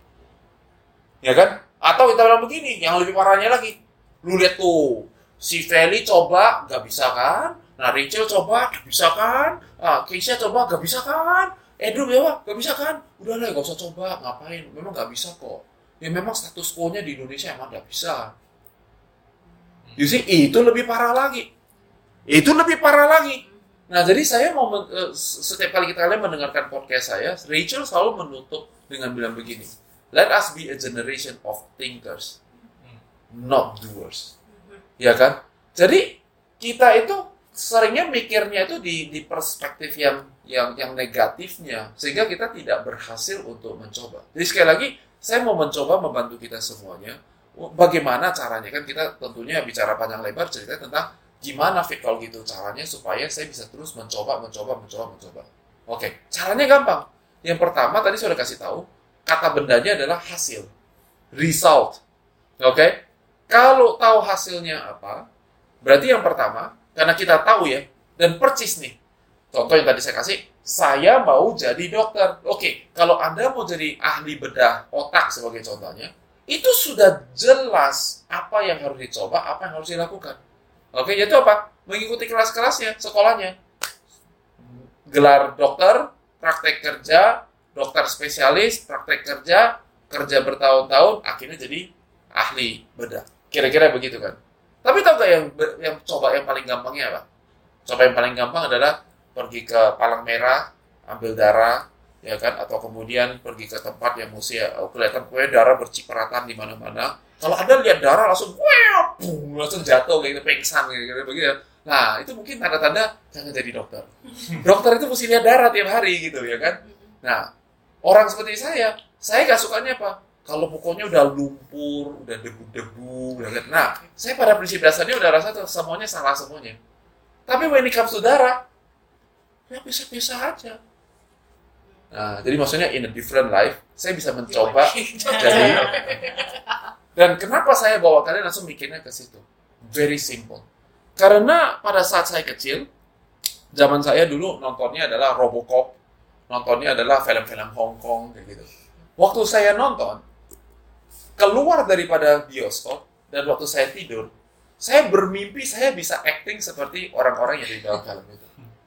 C: Ya kan? Atau kita bilang begini, yang lebih parahnya lagi, lu lihat tuh, si Feli coba, nggak bisa kan? Nah, Rachel coba, nggak bisa kan? Ah, Keisha coba, nggak bisa kan? Andrew ya, nggak bisa kan? Udah lah, nggak usah coba, ngapain? Memang nggak bisa kok. Ya memang status quo-nya di Indonesia emang nggak bisa. You see, itu lebih parah lagi. Itu lebih parah lagi. Nah, jadi saya mau, men- eh, setiap kali kita kalian mendengarkan podcast saya, Rachel selalu menutup dengan bilang begini, let us be a generation of thinkers, not doers. Ya kan? Jadi, kita itu seringnya mikirnya itu di, di perspektif yang, yang, yang negatifnya, sehingga kita tidak berhasil untuk mencoba. Jadi sekali lagi, saya mau mencoba membantu kita semuanya. Bagaimana caranya? Kan kita tentunya bicara panjang lebar cerita tentang gimana fit kalau gitu caranya supaya saya bisa terus mencoba, mencoba, mencoba, mencoba. Oke, caranya gampang. Yang pertama tadi saya sudah kasih tahu, kata bendanya adalah hasil, result. Oke, kalau tahu hasilnya apa, berarti yang pertama, karena kita tahu ya, dan percis nih. Contoh yang tadi saya kasih, saya mau jadi dokter. Oke, kalau Anda mau jadi ahli bedah otak sebagai contohnya, itu sudah jelas apa yang harus dicoba, apa yang harus dilakukan. Oke, yaitu apa? Mengikuti kelas-kelasnya, sekolahnya. Gelar dokter, praktek kerja, dokter spesialis, praktek kerja, kerja bertahun-tahun, akhirnya jadi ahli bedah. Kira-kira begitu kan? Tapi tahu nggak yang, yang coba yang paling gampangnya apa? Coba yang paling gampang adalah pergi ke palang merah, ambil darah, ya kan? Atau kemudian pergi ke tempat yang mesti uh, kelihatan kue darah bercipratan di mana-mana. Kalau Anda lihat darah langsung, wah, boom, langsung jatuh kayak gitu, pingsan kayak gitu, begitu. Nah, itu mungkin tanda-tanda jangan jadi dokter. Dokter itu mesti lihat darah tiap hari gitu, ya kan? Nah, orang seperti saya, saya nggak sukanya apa? Kalau pokoknya udah lumpur, udah debu-debu, udah kan? Nah, saya pada prinsip dasarnya udah rasa tuh semuanya salah semuanya. Tapi when it comes to darah, ya bisa-bisa aja. Nah, jadi maksudnya in a different life, saya bisa mencoba jadi. Dan kenapa saya bawa kalian langsung mikirnya ke situ? Very simple. Karena pada saat saya kecil, zaman saya dulu nontonnya adalah Robocop, nontonnya adalah film-film Hong Kong kayak gitu. Waktu saya nonton, keluar daripada bioskop dan waktu saya tidur, saya bermimpi saya bisa acting seperti orang-orang yang di dalam film itu.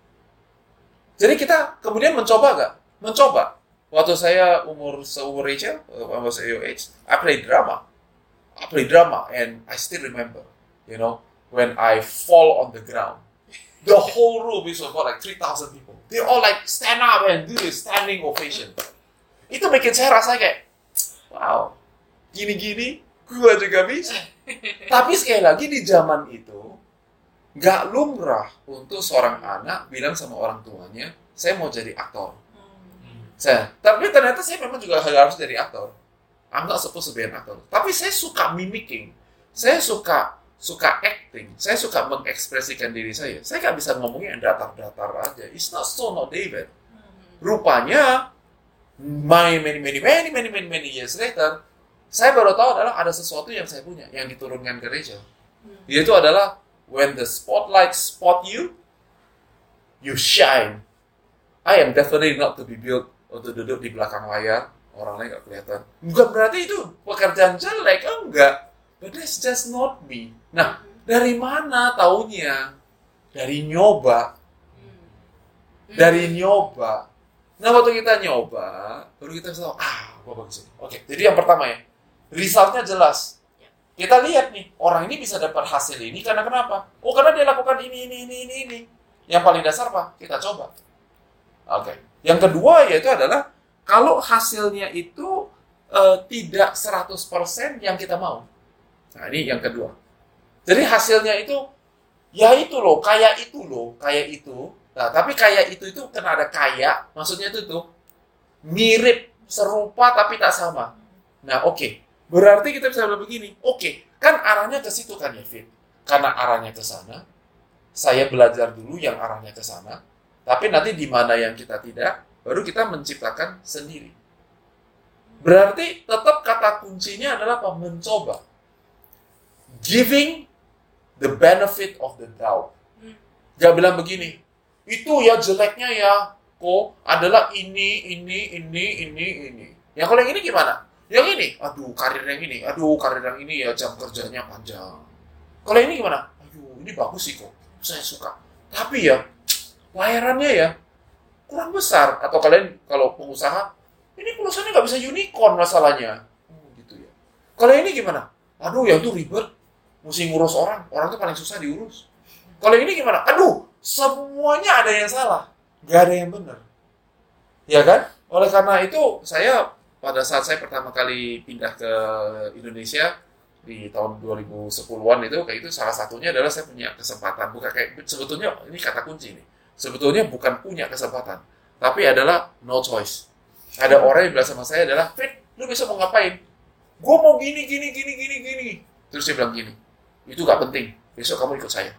C: Jadi kita kemudian mencoba nggak? Mencoba. Waktu saya umur seumur Rachel, umur your age, I play drama. I play drama and I still remember, you know, when I fall on the ground. The whole room is about like three thousand people. They all like stand up and do this standing ovation. Itu bikin saya rasa kayak, wow, gini-gini, gue juga bisa. Tapi sekali lagi di zaman itu, nggak lumrah untuk seorang anak bilang sama orang tuanya, saya mau jadi aktor. Saya, tapi ternyata saya memang juga harus jadi aktor. I'm not supposed to be an actor. Tapi saya suka mimicking. Saya suka suka acting. Saya suka mengekspresikan diri saya. Saya nggak bisa ngomongnya yang datar-datar aja. It's not so, not David. Rupanya, many, many, many, many, many, many, many years later, saya baru tahu adalah ada sesuatu yang saya punya, yang diturunkan ke Rachel. Yaitu adalah, when the spotlight spot you, you shine. I am definitely not to be built untuk duduk di belakang layar, orang lain nggak kelihatan. Bukan berarti itu pekerjaan jelek, enggak. But that's just not me. Nah, dari mana taunya? Dari nyoba. Dari nyoba. Nah, waktu kita nyoba, baru kita tahu, ah, apa bagus ini. Oke, jadi yang pertama ya, resultnya jelas. Kita lihat nih, orang ini bisa dapat hasil ini karena kenapa? Oh, karena dia lakukan ini, ini, ini, ini, ini. Yang paling dasar apa? Kita coba. Oke. Yang kedua yaitu adalah kalau hasilnya itu uh, tidak seratus persen yang kita mau. Nah, ini yang kedua. Jadi hasilnya itu, ya itu loh, kayak itu loh, kayak itu. Nah, tapi kayak itu itu kena ada kayak, maksudnya itu tuh mirip, serupa tapi tak sama. Nah, oke. Okay. Berarti kita bisa bilang begini, oke, okay, kan arahnya ke situ kan ya, Fit? Karena arahnya ke sana, saya belajar dulu yang arahnya ke sana, tapi nanti di mana yang kita tidak, baru kita menciptakan sendiri. Berarti tetap kata kuncinya adalah apa? Mencoba. Giving the benefit of the doubt. Gak bilang begini, itu ya jeleknya ya, kok adalah ini, ini, ini, ini, ini. Yang kalau yang ini gimana? Yang ini, aduh karir yang ini, aduh karir yang ini ya jam kerjanya panjang. Kalau ini gimana? Aduh ini bagus sih kok, saya suka. Tapi ya, layarannya ya kurang besar. Atau kalian kalau pengusaha, ini perusahaannya nggak bisa unicorn masalahnya. Hmm, gitu ya. Kalau ini gimana? Aduh yang itu ribet, mesti ngurus orang, orang itu paling susah diurus. Kalau ini gimana? Aduh, semuanya ada yang salah, nggak ada yang benar. Ya kan? Oleh karena itu, saya pada saat saya pertama kali pindah ke Indonesia di tahun dua ribu sepuluhan itu, kayak itu salah satunya adalah saya punya kesempatan. Bukan kayak sebetulnya ini kata kunci nih. Sebetulnya bukan punya kesempatan, tapi adalah no choice. Ada orang yang bilang sama saya adalah, Fit, lu besok mau ngapain? Gue mau gini, gini, gini, gini, gini. Terus dia bilang gini, itu gak penting, besok kamu ikut saya.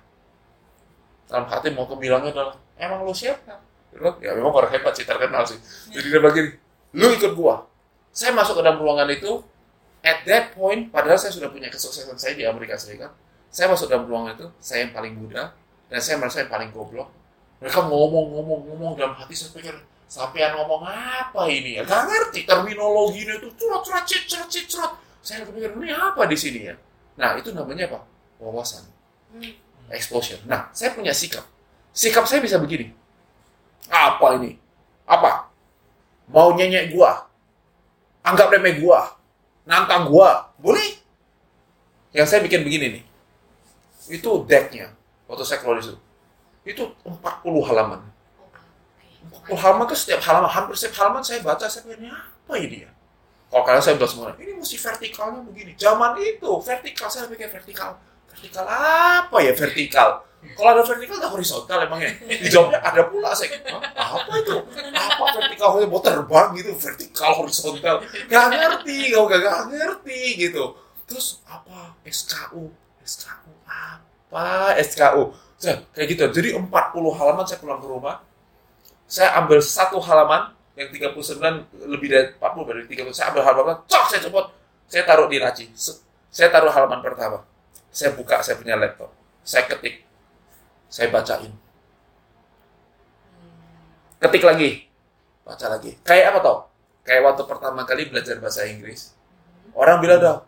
C: Dalam hati mau kebilangnya adalah, emang lu siapa? Ya memang orang hebat sih, terkenal sih. Jadi dia bilang gini, lu ikut gua. Saya masuk ke dalam ruangan itu, at that point, padahal saya sudah punya kesuksesan saya di Amerika Serikat. Saya masuk dalam ruangan itu, saya yang paling muda, dan saya merasa yang paling goblok. Mereka ngomong-ngomong-ngomong dalam hati, saya pikir, sampean ngomong apa ini ya? Gak ngerti terminologinya itu, curhat-curhat, curhat-curhat. Saya pikir, ini apa di sini ya? Nah, itu namanya apa? Wawasan. Exposure. Nah, saya punya sikap. Sikap saya bisa begini. Apa ini? Apa? Mau nyenyek gua? Anggap remeh gua, nantang gua, boleh? Yang saya bikin begini nih, itu decknya, waktu saya keluar itu, itu empat puluh halaman. empat puluh halaman ke setiap halaman, hampir setiap halaman saya baca, saya pikirnya apa ini ya? Kalau kalian saya bilang semua, ini mesti vertikalnya begini. Zaman itu, vertikal, saya pikir vertikal. Vertikal apa ya vertikal? Kalau ada vertikal, ada horizontal emangnya. Dijawabnya ada pula, saya apa itu? Apa vertikal? Mau terbang gitu, vertikal, horizontal. Gak ngerti, gak, gak ngerti gitu. Terus apa? S K U. S K U apa? S K U. Saya, kayak gitu. Jadi empat puluh halaman saya pulang ke rumah. Saya ambil satu halaman, yang tiga puluh sembilan, lebih dari empat puluh, dari tiga puluh. Saya ambil halaman, cok, saya copot. Saya taruh di laci. Saya taruh halaman pertama. Saya buka, saya punya laptop. Saya ketik. Saya bacain. Ketik lagi. Baca lagi. Kayak apa toh? Kayak waktu pertama kali belajar bahasa Inggris. Orang bilang dah,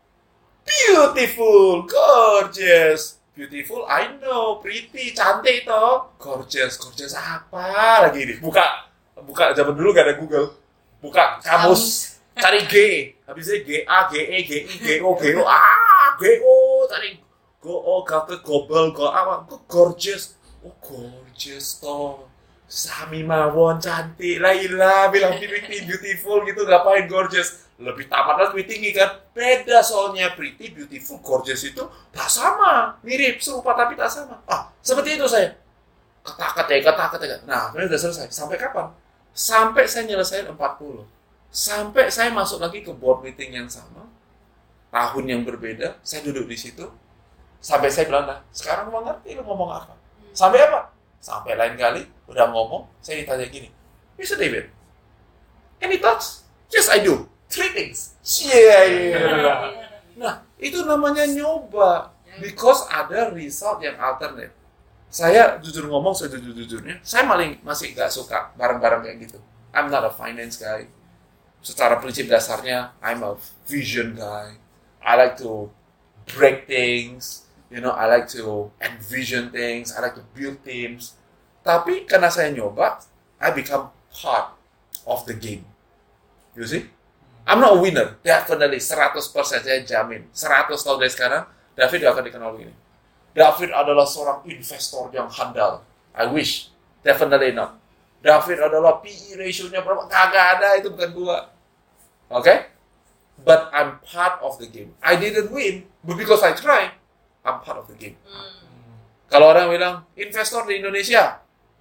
C: beautiful, gorgeous. Beautiful, I know, pretty, cantik toh. Gorgeous, gorgeous apa lagi ini? Buka, buka, zaman dulu gak ada Google. Buka kamus, cari G. Habisnya G A, G E, G I, G O, G O, ah, G O, cari Go, oh, kata gobel, go, apa, go, gorgeous. Oh, gorgeous, toh. Sami mawon, cantik. Lah, ilah, bilang pretty, beautiful, gitu, ngapain gorgeous. Lebih tamat, lebih tinggi, kan. Beda soalnya, pretty, beautiful, gorgeous itu tak sama. Mirip, serupa, tapi tak sama. Ah, seperti itu saya. Ketak-ketik, ketak-ketik. Nah, ini udah selesai. Sampai kapan? Sampai saya nyelesain empat puluh. Sampai saya masuk lagi ke board meeting yang sama. Tahun yang berbeda, saya duduk di situ. Sampai saya bilang, nah, sekarang mau ngerti lu ngomong apa? Sampai apa? Sampai lain kali, udah ngomong, saya ditanya gini, mister David, any thoughts? Yes, I do. Three things. Yeah, yeah. Nah, itu namanya nyoba. Because ada result yang alternate. Saya jujur ngomong, saya jujur-jujurnya, saya maling, masih gak suka barang-barang kayak gitu. I'm not a finance guy. Secara prinsip dasarnya, I'm a vision guy. I like to break things. You know, I like to envision things. I like to build teams. Tapi karena saya nyoba, I become part of the game. You see? I'm not a winner. Definitely, seratus persen saya jamin. seratus tahun dari sekarang, David akan dikenal begini. David adalah seorang investor yang handal. I wish. Definitely not. David adalah P E ratio-nya berapa? Kagak ada, itu bukan gua. Oke? Okay? But I'm part of the game. I didn't win, but because I tried, I'm part of the game. Hmm. Kalau orang bilang, investor di Indonesia,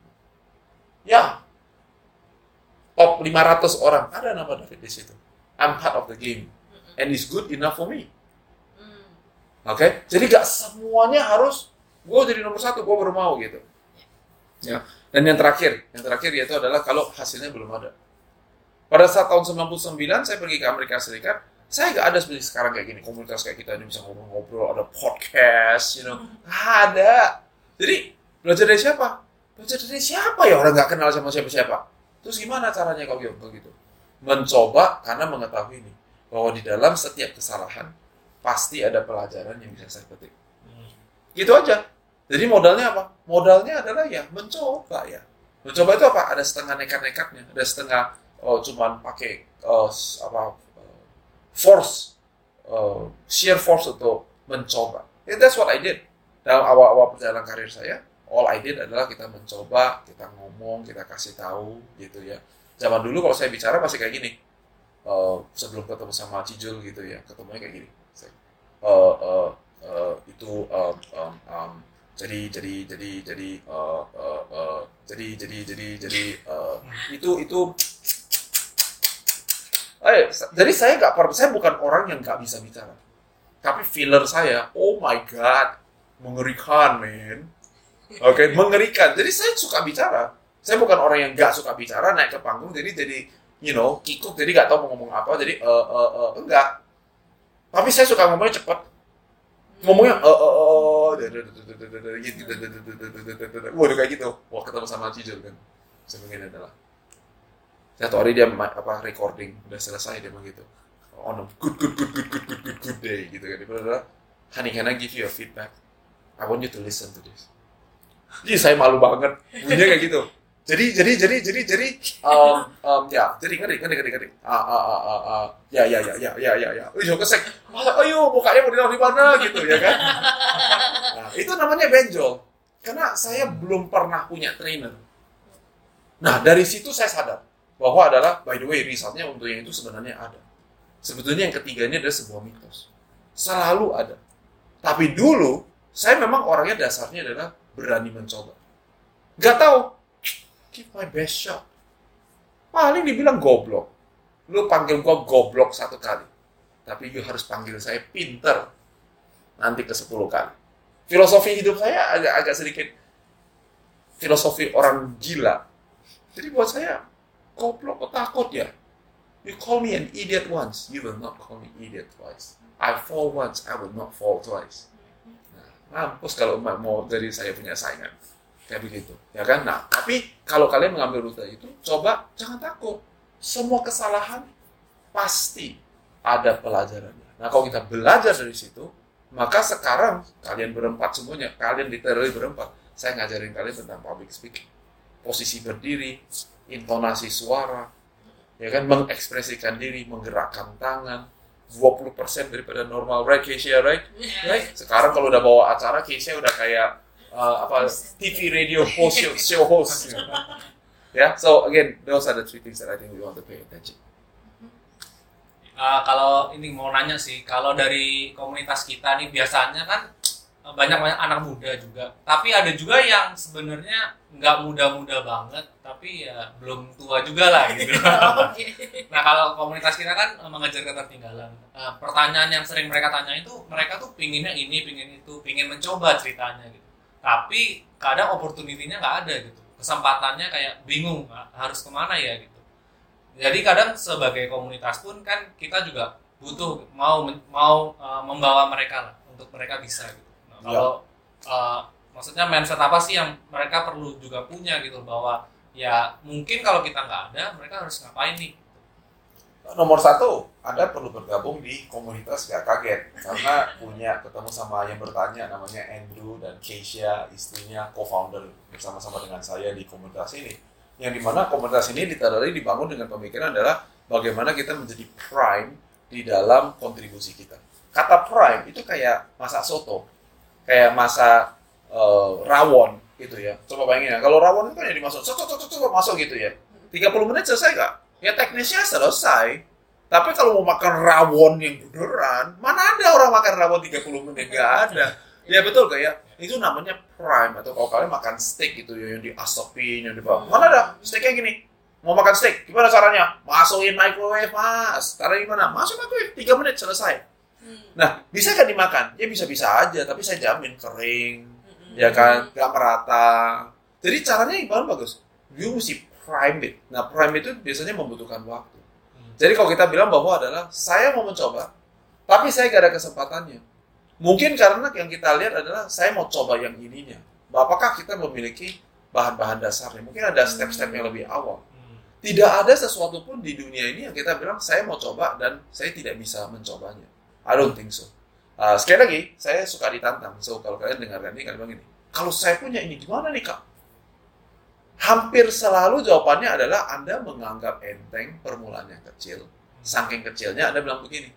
C: ya, top lima ratus orang, ada nama David di situ. I'm part of the game. and it's good enough for me.
B: Hmm.
C: Oke, okay? Jadi gak semuanya harus gue jadi nomor satu, gue baru mau gitu. Ya. Dan yang terakhir, yang terakhir yaitu adalah kalau hasilnya belum ada. Pada saat tahun sembilan puluh sembilan saya pergi ke Amerika Serikat, saya gak ada seperti sekarang kayak gini, komunitas kayak kita ini bisa ngobrol-ngobrol, ada podcast, you know, ada. Jadi belajar dari siapa? Belajar dari siapa ya orang gak kenal sama siapa-siapa? Terus gimana caranya kalau gitu? Mencoba karena mengetahui ini bahwa di dalam setiap kesalahan pasti ada pelajaran yang bisa saya petik. Gitu aja. Jadi modalnya apa? Modalnya adalah ya mencoba ya. Mencoba itu apa? Ada setengah nekat-nekatnya, ada setengah oh, cuman pakai uh, apa uh, force, uh, sheer force untuk mencoba. And that's what I did. Dalam awal-awal perjalanan karir saya, all I did adalah kita mencoba, kita ngomong, kita kasih tahu gitu ya. Zaman dulu kalau saya bicara pasti kayak gini. Uh, sebelum ketemu sama Cijul gitu ya, ketemunya kayak gini. Uh, uh, uh, itu um, um, um, jadi jadi jadi jadi uh, uh, uh, jadi jadi jadi jadi uh, itu itu eh jadi saya nggak saya bukan orang yang nggak bisa bicara, tapi filler saya oh my god mengerikan men, oke okay, mengerikan. Jadi saya suka bicara, saya bukan orang yang nggak suka bicara naik ke panggung jadi jadi you know kikuk jadi nggak tahu mau ngomong apa jadi uh, uh, uh, enggak, tapi saya suka ngomongnya cepat. Ngomongnya eh eh eh waduh kayak gitu. Wah ketemu sama Cijul kan. Sebenarnya adalah satu hari dia apa recording udah selesai dia begitu. On a good good good good good good good good day gitu kan. Dia bilang, "Honey, can I give you a feedback? I want you to listen to this." Jadi saya malu banget. Bunyinya kayak gitu. Jadi jadi jadi jadi jadi um, um, ya jadi ngeri ngeri ngeri ngeri ah ah ah ah ah ya ya ya ya ya ya ya udah kesek ayo mukanya mau ditaruh di mana gitu ya kan. Nah, itu namanya benjol karena saya belum pernah punya trainer. Nah dari situ saya sadar bahwa adalah by the way risetnya untuk yang itu sebenarnya ada. Sebetulnya yang ketiga ini adalah sebuah mitos, selalu ada. Tapi dulu saya memang orangnya dasarnya adalah berani mencoba. Gak tahu. Give my best shot. Paling dibilang goblok. Lu panggil gua goblok satu kali. Tapi you harus panggil saya pinter. Nanti ke sepuluh kali. Filosofi hidup saya agak agak sedikit filosofi orang gila. Jadi buat saya, goblok kok takut ya? You call me an idiot once, you will not call me idiot twice. I fall once, I will not fall twice. Nah, mampus kalau mau dari saya punya saingan. Kayak begitu, ya kan? Nah, tapi kalau kalian mengambil rute itu, coba jangan takut. Semua kesalahan pasti ada pelajarannya. Nah, kalau kita belajar dari situ, maka sekarang kalian berempat semuanya, kalian literally berempat, saya ngajarin kalian tentang public speaking, posisi berdiri, intonasi suara, ya kan? Mengekspresikan diri, menggerakkan tangan, dua puluh persen daripada normal, right, Keisha, right? Right? Sekarang kalau udah bawa acara, Keisha udah kayak Uh, apa T V radio host show, show host you know. Yeah, so again those are the three things that I think we want to pay attention.
E: Uh, kalau ini mau nanya sih, kalau dari komunitas kita nih biasanya kan banyak banyak anak muda juga, tapi ada juga yang sebenarnya nggak muda-muda banget, tapi ya belum tua juga lah gitu. Nah kalau komunitas kita kan mengejar ketertinggalan. Uh, pertanyaan yang sering mereka tanya itu, mereka tuh pinginnya ini, pingin itu, pingin mencoba ceritanya gitu. Tapi kadang opportunity-nya nggak ada gitu, kesempatannya kayak bingung harus kemana ya gitu. Jadi kadang sebagai komunitas pun kan kita juga butuh mau mau uh, membawa mereka lah untuk mereka bisa gitu. Nah, kalau uh, maksudnya mindset apa sih yang mereka perlu juga punya gitu bahwa ya mungkin kalau kita nggak ada mereka harus ngapain nih?
C: Nomor satu, Anda perlu bergabung di komunitas Gak Kaget karena punya ketemu sama yang bertanya namanya Andrew dan Keisha, istrinya co-founder bersama-sama dengan saya di komunitas ini. Yang dimana komunitas ini literally dibangun dengan pemikiran adalah bagaimana kita menjadi prime di dalam kontribusi kita. Kata prime itu kayak masak soto, kayak masak uh, rawon gitu ya. Coba bayangin ya, kalau rawon itu kan yang dimasuk, coba coba masuk gitu ya. tiga puluh menit selesai nggak? Ya teknisnya selesai. Tapi kalau mau makan rawon yang beneran, mana ada orang makan rawon tiga puluh menit? Nggak ada. Ya betul kayak itu namanya prime. Atau kalau kalian makan steak gitu ya, yang diasapin, yang dibawa. Mana ada steaknya gini? mau makan steak, gimana caranya? Masukin microwave, Mas. Caranya gimana? Masuk microwave, tiga menit selesai. Nah, bisa kan dimakan? Ya bisa-bisa aja, tapi saya jamin kering, ya kan, nggak merata. Jadi caranya gimana bagus? You mesti prime it. Nah, prime itu biasanya membutuhkan waktu. Jadi kalau kita bilang bahwa adalah saya mau mencoba, tapi saya nggak ada kesempatannya. Mungkin karena yang kita lihat adalah saya mau coba yang ininya. Apakah kita memiliki bahan-bahan dasarnya? Mungkin ada step-step yang lebih awal. Tidak ada sesuatu pun di dunia ini yang kita bilang saya mau coba dan saya tidak bisa mencobanya. I don't think so. Uh, sekali lagi, saya suka ditantang. So, kalau kalian dengarkan ini, kalian bilang ini, kalau saya punya ini, gimana nih Kak? Hampir selalu jawabannya adalah Anda menganggap enteng permulaan yang kecil. Saking kecilnya Anda bilang begini,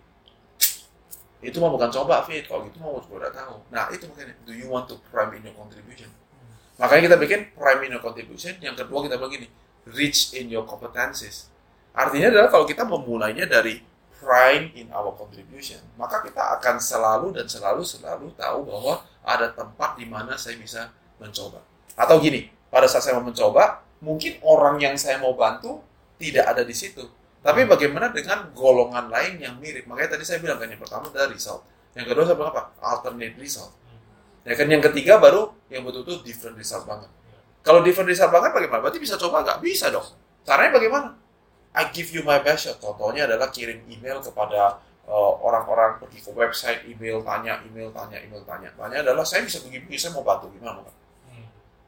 C: itu mah bukan coba, Fit. Kalau gitu mau udah tahu. Nah, itu makanya, do you want to prime in your contribution? Makanya kita bikin prime in your contribution. Yang kedua kita bilang gini, rich in your competencies. Artinya adalah kalau kita memulainya dari prime in our contribution, maka kita akan selalu dan selalu selalu tahu bahwa ada tempat di mana saya bisa mencoba. Atau gini, pada saat saya mau mencoba, mungkin orang yang saya mau bantu tidak ada di situ. Tapi bagaimana dengan golongan lain yang mirip? Makanya tadi saya bilang kan yang pertama adalah result. Yang kedua saya bilang apa? Alternate result. Ya kan yang ketiga baru yang betul-betul different result banget. Kalau different result banget bagaimana? Berarti bisa coba nggak? Bisa dong. Caranya bagaimana? I give you my best shot. Contohnya adalah kirim email kepada uh, orang-orang, pergi ke website, email, tanya, email, tanya, email, tanya. Tanya adalah saya bisa begini, saya mau bantu. Gimana? Hmm.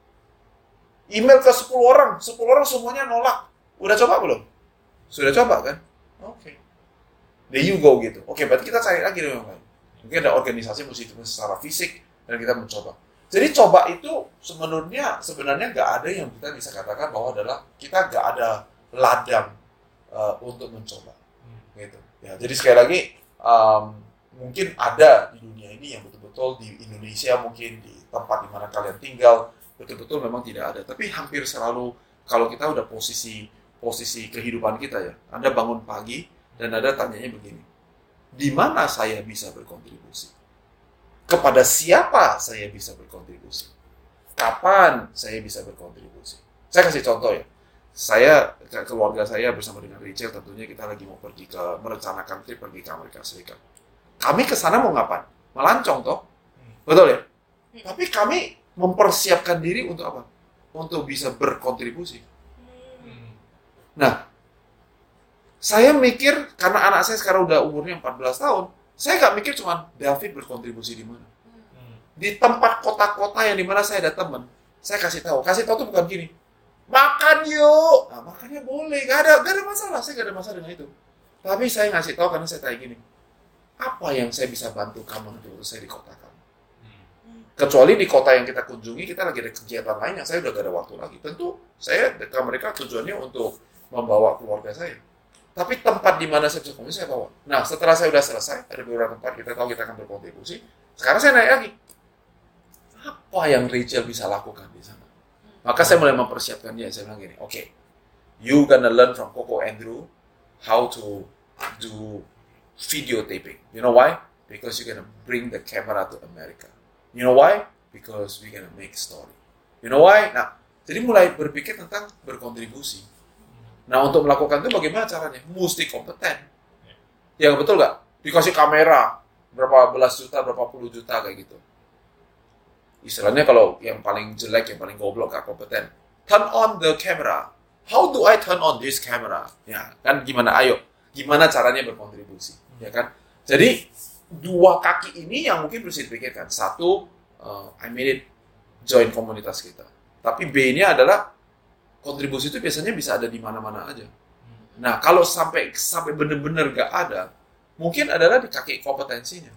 C: Email ke sepuluh orang, sepuluh orang semuanya nolak. Udah coba belum? Sudah coba kan? Oke. Okay. There you go gitu. Oke, okay, berarti kita cari lagi dong yang lain. Mungkin ada organisasi mesti itu secara fisik dan kita mencoba. Jadi coba itu sebenarnya sebenarnya nggak ada yang kita bisa katakan bahwa adalah kita nggak ada ladang uh, untuk mencoba. Gitu. Ya, jadi sekali lagi um, mungkin ada di dunia ini yang betul-betul di Indonesia mungkin di tempat di mana kalian tinggal betul-betul memang tidak ada. Tapi hampir selalu kalau kita udah posisi posisi kehidupan kita ya. Anda bangun pagi dan Anda tanyanya begini. Di mana saya bisa berkontribusi? Kepada siapa saya bisa berkontribusi? Kapan saya bisa berkontribusi? Saya kasih contoh ya. Saya, keluarga saya bersama dengan Rachel tentunya kita lagi mau pergi ke, merencanakan trip pergi ke Amerika Serikat. Kami ke sana mau ngapain? Melancong toh? Betul ya? Tapi kami mempersiapkan diri untuk apa? Untuk bisa berkontribusi. Nah, saya mikir, karena anak saya sekarang udah umurnya empat belas tahun, saya nggak mikir cuma David berkontribusi di mana. Di tempat kota-kota yang di mana saya ada teman, saya kasih tahu. Kasih tahu tuh bukan gini, makan yuk. Nah, makannya boleh, nggak ada, nggak ada masalah. Saya nggak ada masalah dengan itu. Tapi saya ngasih tahu karena saya tanya gini, apa yang saya bisa bantu kamu nanti waktu saya di kota kamu? Kecuali di kota yang kita kunjungi, kita lagi ada kegiatan lain yang saya udah gak ada waktu lagi. Tentu saya ke mereka tujuannya untuk membawa keluarga saya. Tapi tempat di mana saya bisa kontribusi, saya bawa. Nah, setelah saya sudah selesai, ada beberapa tempat kita tahu kita akan berkontribusi. Sekarang saya naik lagi. Apa yang Rachel bisa lakukan di sana? Maka saya mulai mempersiapkan dia. Saya bilang gini, oke, okay, you gonna learn from Coco Andrew how to do video taping. You know why? Because you're gonna bring the camera to America. You know why? Because we're gonna make story. You know why? Nah, jadi mulai berpikir tentang berkontribusi. Nah, untuk melakukan itu bagaimana caranya? Mesti kompeten. Ya, betul nggak? Dikasih kamera, berapa belas juta, berapa puluh juta, kayak gitu. Istilahnya kalau yang paling jelek, yang paling goblok, nggak kompeten. Turn on the camera. How do I turn on this camera? Ya, kan gimana? Ayo. Gimana caranya berkontribusi? Ya kan? Jadi, dua kaki ini yang mungkin harus dipikirkan. Satu, uh, I made it join komunitas kita. Tapi B-nya adalah kontribusi itu biasanya bisa ada di mana-mana aja. Nah, kalau sampai sampai benar-benar nggak ada, mungkin adalah di kaki kompetensinya.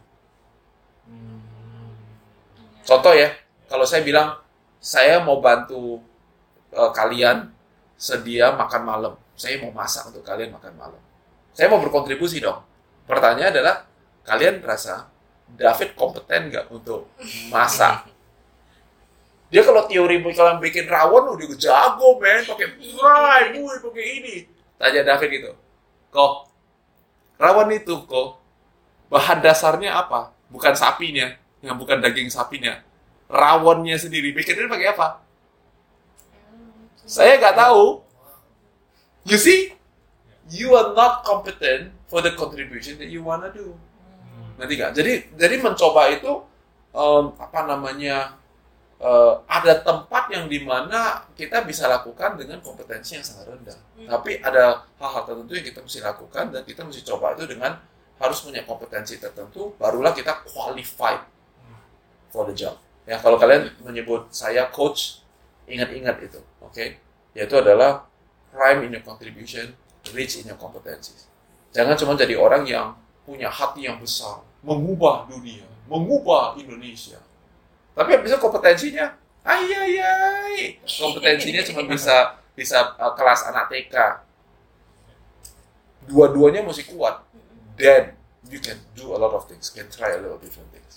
C: Contoh ya, kalau saya bilang saya mau bantu uh, kalian sedia makan malam, saya mau masak untuk kalian makan malam. Saya mau berkontribusi dong. Pertanyaan adalah, kalian rasa David kompeten nggak untuk masak? Dia kalau teori kalau bikin rawon udah jago, men, pakai fry, boy, pakai ini. Tanya David gitu, kok rawon itu kok bahan dasarnya apa? Bukan sapinya, yang bukan daging sapinya, rawonnya sendiri. Bikinnya pakai apa? Saya nggak tahu. You see, you are not competent for the contribution that you wanna do. Nanti nggak? Jadi jadi mencoba itu um, apa namanya uh, ada tempat yang dimana kita bisa lakukan dengan kompetensi yang sangat rendah. Hmm. Tapi ada hal-hal tertentu yang kita mesti lakukan dan kita mesti coba itu dengan harus punya kompetensi tertentu. Barulah kita qualified for the job. Ya kalau kalian menyebut saya coach, ingat-ingat itu, oke? Okay? Yaitu adalah prime in your contribution, rich in your competencies. Jangan cuma jadi orang yang punya hati yang besar, mengubah dunia, mengubah Indonesia. Tapi habis itu kompetensinya, ay ay ay, kompetensinya cuma bisa bisa uh, kelas anak T K. Dua-duanya mesti kuat. Then you can do a lot of things, can try a lot of different things.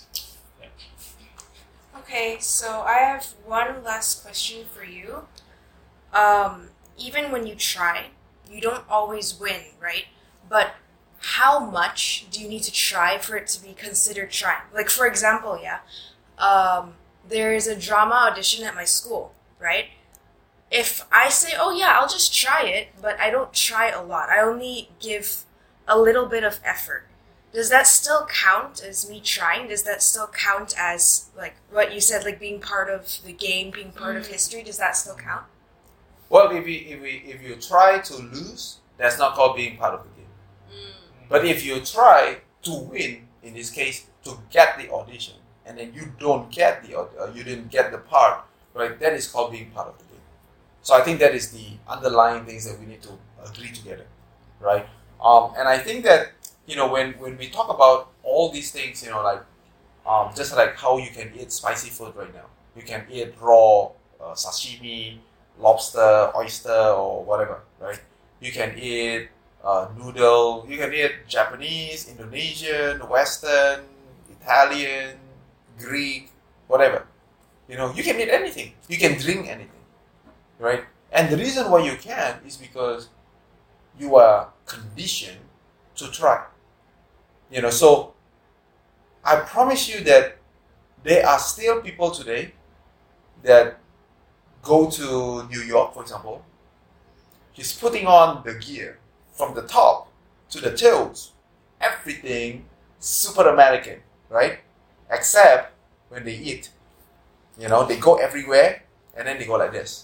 A: Okay, so I have one last question for you. Um, even when you try, you don't always win, right? But how much do you need to try for it to be considered trying? Like, for example, yeah, um, there is a drama audition at my school, right? If I say, oh yeah, I'll just try it, but I don't try a lot, I only give a little bit of effort, does that still count as me trying? Does that still count as, like, what you said, like, being part of the game, being part mm. of history? Does that still count?
C: Well, if you, if, you, if you try to lose, that's not called being part of the game. Mm. But if you try to win, in this case, to get the audition, and then you don't get the, uh, you didn't get the part, right, that is called being part of the game. So I think that is the underlying things that we need to agree together, right? Um, and I think that, you know, when, when we talk about all these things, you know, like, um, just like how you can eat spicy food right now. You can eat raw uh, sashimi, lobster, oyster, or whatever, right? You can eat uh, noodle, you can eat Japanese, Indonesian, Western, Italian, Greek, whatever. You know, you can eat anything. You can drink anything, right? And the reason why you can is because you are conditioned to try. You know, so I promise you that there are still people today that go to New York, for example. He's putting on the gear from the top to the toes. Everything super American, right? Except when they eat. You know, they go everywhere and then they go like this.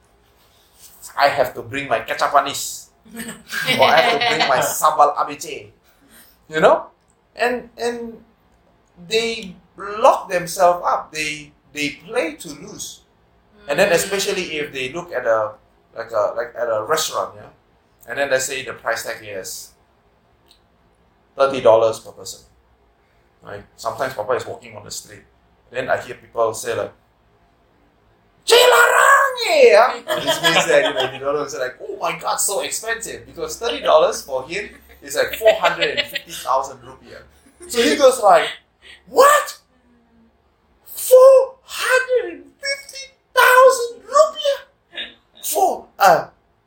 C: I have to bring my ketchup manis. Or I have to bring my sambal A B C. You know? And and they lock themselves up. They they play to lose. And then especially if they look at a like a like at a restaurant, yeah. And then let's say the price tag is thirty dollars per person. Right? Sometimes Papa is walking on the street. Then I hear people say like, Cilarang! Yeah. This means that, you know, you don't know, it's like, oh my god, so expensive. Because thirty dollars for him is like four hundred fifty thousand rupiah. So he goes like, what? four hundred fifty thousand rupiah for a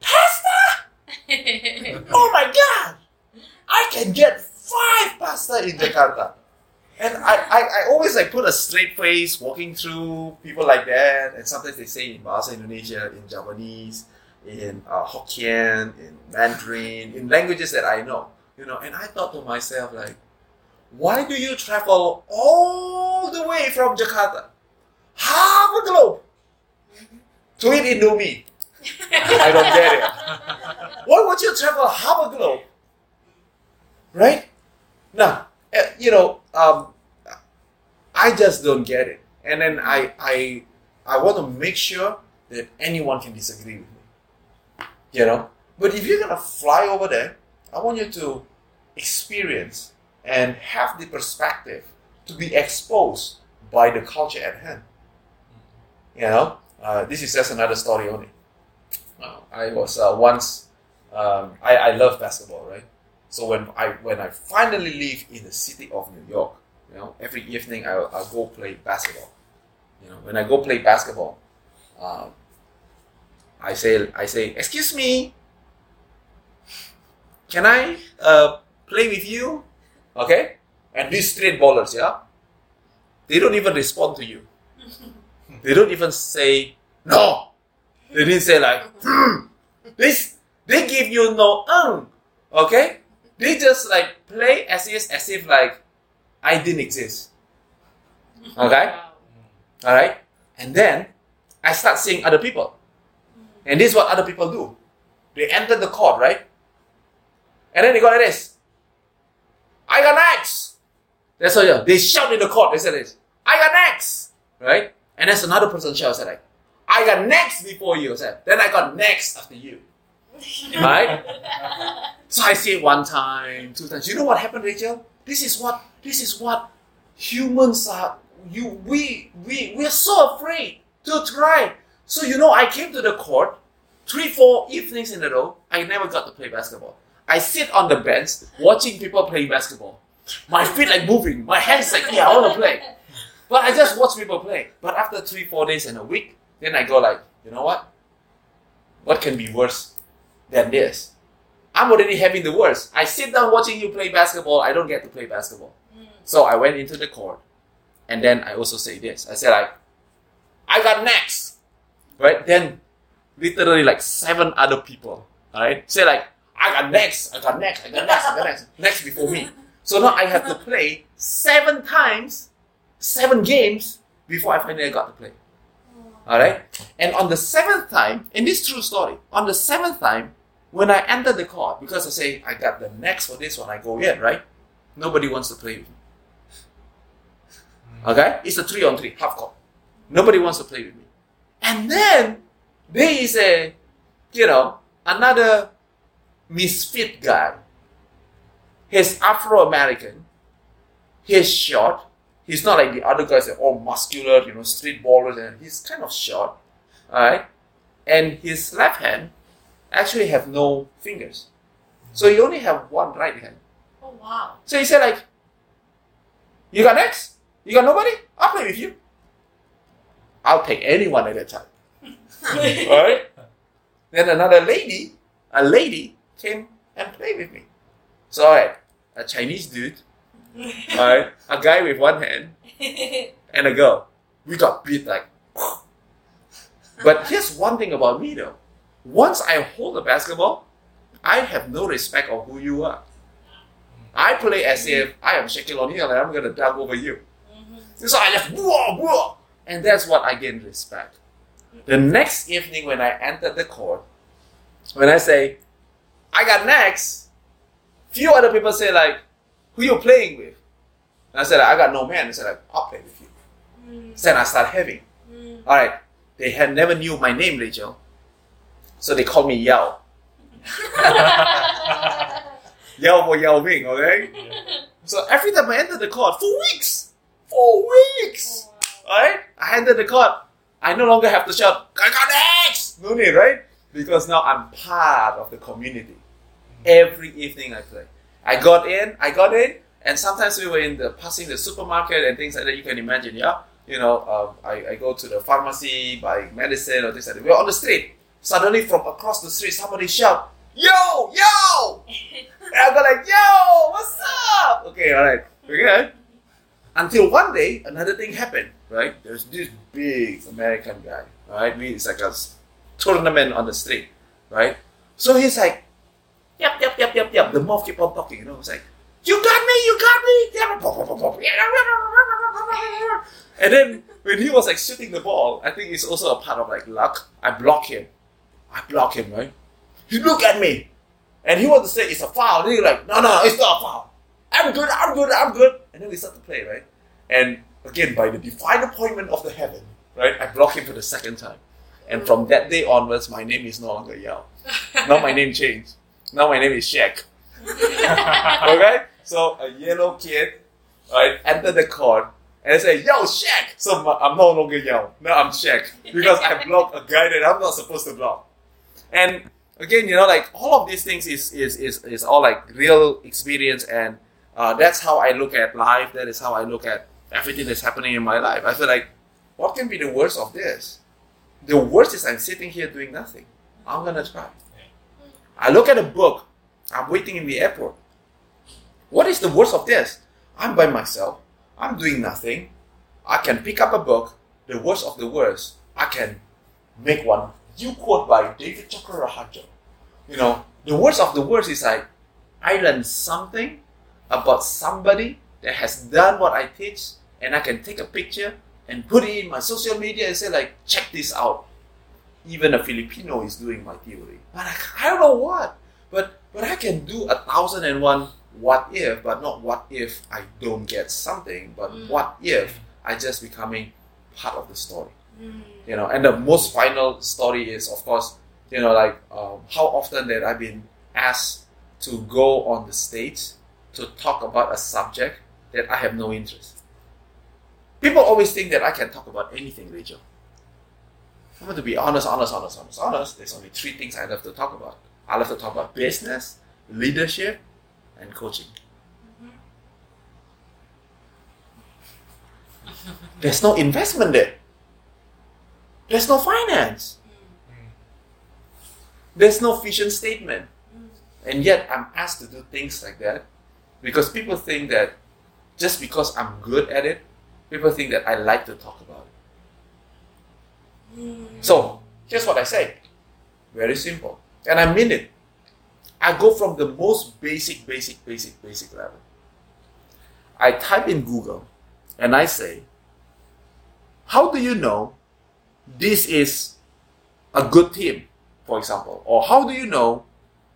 C: pasta? Oh my god! I can get five pasta in Jakarta. And I, I, I always like put a straight face walking through people like that. And sometimes they say in Bahasa Indonesia, in Japanese, in uh, Hokkien, in Mandarin, in languages that I know. You know, and I thought to myself like, why do you travel all the way from Jakarta, half a globe, to eat Indomie? I don't get it. Why would you travel half a globe? Right? Now, uh, you know, um, I just don't get it. And then I, I, I want to make sure that anyone can disagree with me. You know? But if you're going to fly over there, I want you to experience and have the perspective to be exposed by the culture at hand. You know? Uh, this is just another story only. Uh, I was uh, once, um, I, I love basketball, right? So when I when I finally live in the city of New York, you know, every evening I'll, I'll go play basketball. You know, when I go play basketball, um, I say I say, excuse me, can I uh, play with you? Okay? And these straight ballers, yeah, they don't even respond to you. They don't even say no. They didn't say like, hmm. They They give you no ung. Okay? They just like play as if, as if like I didn't exist. Okay? Alright? And then I start seeing other people. And this is what other people do. They enter the court, right? And then they go like this. I got next. That's what they shout in the court. They say this. I got next. Right? And there's another person shouts like, I got next before you. Said, then I got next after you. Right? So I see it one time, two times. You know what happened, Rachel? This is what this is what humans are. You we we we are so afraid to try. So you know, I came to the court three, four evenings in a row. I never got to play basketball. I sit on the bench watching people play basketball. My feet like moving. My hands like, yeah, I want to play. But I just watch people play. But after three, four days in a week, then I go like, you know what? What can be worse than this? I'm already having the worst. I sit down watching you play basketball. I don't get to play basketball. Mm. So I went into the court. And then I also say this. I said like, I got next. Right? Then literally like seven other people. Alright? Say like, I got next. I got next. I got next. I got next. Next before me. So now I have to play seven times, seven games before I finally got to play. Alright? And on the seventh time, in this true story, on the seventh time, when I enter the court, because I say, I got the next for this one, I go in, right? Nobody wants to play with me. Okay? It's a three on three, half court. Nobody wants to play with me. And then, there is a, you know, another misfit guy. He's Afro-American. He's short. He's not like the other guys that are all muscular, you know, street ballers, and he's kind of short. Alright? And his left hand actually have no fingers. So he only have one right hand.
D: Oh wow.
C: So he said like, you got next? You got nobody? I'll play with you. I'll take anyone at that time. Alright? Then another lady, a lady came and played with me. So alright, a Chinese dude, alright, a guy with one hand, and a girl. We got beat like. But here's one thing about me though. Once I hold the basketball, I have no respect of who you are. I play as if I am Shaquille O'Neal and I'm going to dunk over you. Mm-hmm. So I just whoa, whoa, and that's what I gain respect. The next evening when I entered the court, when I say, I got next, few other people say like, who you playing with? And I said, I got no man. They said like, I'll play with you. Mm. So then I start having. Mm. Alright, they had never knew my name, Rachel. So they called me Yao. Yao for Yao Ming, okay? Yeah. So every time I enter the court, for weeks, for weeks, oh, wow. Right? I enter the court, I no longer have to shout, I got X! No need, right? Because now I'm part of the community. Every evening I play. I got in, I got in, and sometimes we were in the passing the supermarket and things like that. You can imagine, yeah? You know, um, I, I go to the pharmacy, buy medicine or things like that. We're on the street. Suddenly from across the street, somebody shout, yo, yo! And I go like, yo, what's up? Okay, alright. Okay. Until one day, another thing happened, right? There's this big American guy, right? We, it's like a tournament on the street, right? So he's like, yep, yep, yep, yep, yep. The mouth keep on talking, you know. It's like, you got me, you got me. And then when he was like shooting the ball, I think it's also a part of like luck. I block him. I block him, right? He look at me. And he wants to say it's a foul. And he's like, no, no, it's not a foul. I'm good, I'm good, I'm good. And then we start to play, right? And again, by the divine appointment of the heaven, right? I block him for the second time. And from that day onwards, my name is no longer Yao. Now my name changed. Now my name is Shaq. Okay? So a yellow kid, right, enter the court and say, yo, Shaq! So I'm no longer Yao. Now I'm Shaq. Because I blocked a guy that I'm not supposed to block. And again, you know, like all of these things is is is, is all like real experience, and uh, that's how I look at life. That is how I look at everything that's happening in my life. I feel like, what can be the worst of this? The worst is I'm sitting here doing nothing. I'm gonna try. I look at a book. I'm waiting in the airport. What is the worst of this? I'm by myself. I'm doing nothing. I can pick up a book. The worst of the worst, I can make one. You quote by David Chokraraharjo. You know, the worst of the worst is like, I learned something about somebody that has done what I teach, and I can take a picture and put it in my social media and say like, check this out. Even a Filipino is doing my theory. But I, I don't know what. But but I can do a thousand and one what if, but not what if I don't get something, but
A: Mm.
C: what if I just becoming part of the story.
A: Mm.
C: You know, and the most final story is, of course, you know, like um, how often that I've been asked to go on the stage to talk about a subject that I have no interest. People always think that I can talk about anything, Rachel. I'm going to be honest, honest, honest, honest, honest. There's only three things I love to talk about. I love to talk about business, leadership, and coaching. There's no investment there. There's no finance. There's no vision statement. And yet I'm asked to do things like that because people think that just because I'm good at it, people think that I like to talk about it.
A: Mm.
C: So here's what I say. Very simple. And I mean it. I go from the most basic, basic, basic, basic level. I type in Google and I say, how do you know this is a good team, for example? Or how do you know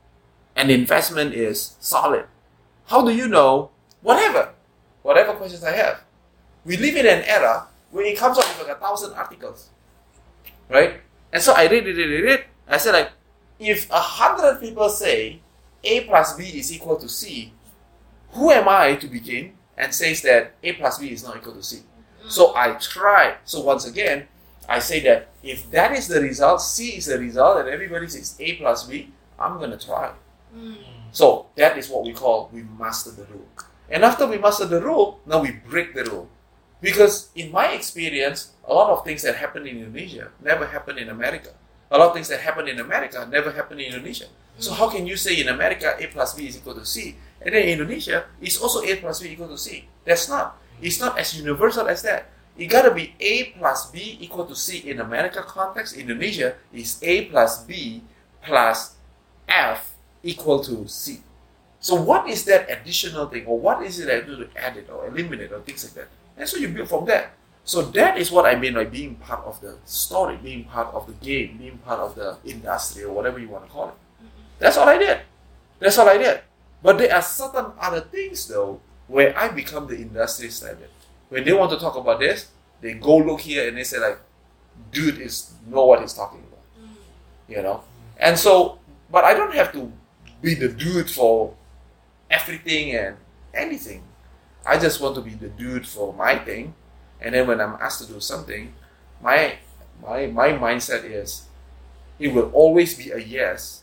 C: an investment is solid? How do you know whatever? Whatever questions I have. We live in an era where it comes up with like a thousand articles. Right? And so I read, read, read, read. I said like, if a hundred people say A plus B is equal to C, who am I to begin and says that A plus B is not equal to C? So I try. So once again, I say that if that is the result, C is the result, and everybody says A plus B, I'm going to try.
A: Mm.
C: So that is what we call we master the rule. And after we master the rule, now we break the rule. Because in my experience, a lot of things that happen in Indonesia never happen in America. A lot of things that happen in America never happen in Indonesia. So how can you say in America A plus B is equal to C, and then in Indonesia it's also A plus B equal to C? That's not. It's not as universal as that. It gotta be A plus B equal to C in America context. Indonesia is A plus B plus F equal to C. So what is that additional thing, or what is it I do to add it or eliminate or things like that? And so you build from that. So that is what I mean by being part of the story, being part of the game, being part of the industry or whatever you want to call it. That's all I did. That's all I did. But there are certain other things though where I become the industry standard. When they want to talk about this, they go look here and they say like, dude is know what he's talking about. You know? And so, but I don't have to be the dude for everything and anything. I just want to be the dude for my thing. And then when I'm asked to do something, my my my mindset is it will always be a yes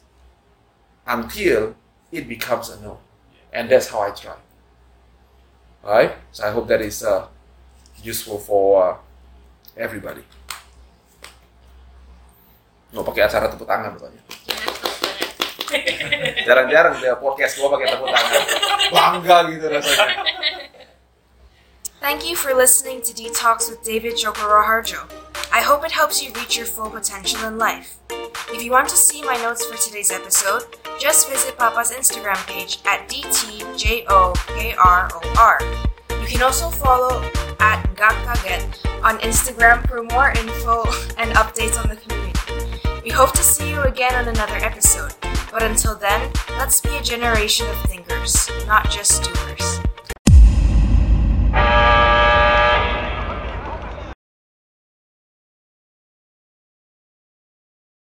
C: until it becomes a no. And that's how I try. Alright? So I hope that is uh, useful for uh, everybody. Nggak pakai acara tepuk tangan pokoknya. Jarang-jarang dia podcast gua pakai tepuk tangan. Bangga gitu rasanya.
A: Thank you for listening to Detox with David Joko Raharjo. I hope it helps you reach your full potential in life. If you want to see my notes for today's episode, just visit Papa's Instagram page at D T J O K R O R. You can also follow at Ngakaget on Instagram for more info and updates on the community. We hope to see you again on another episode. But until then, let's be a generation of thinkers, not just doers.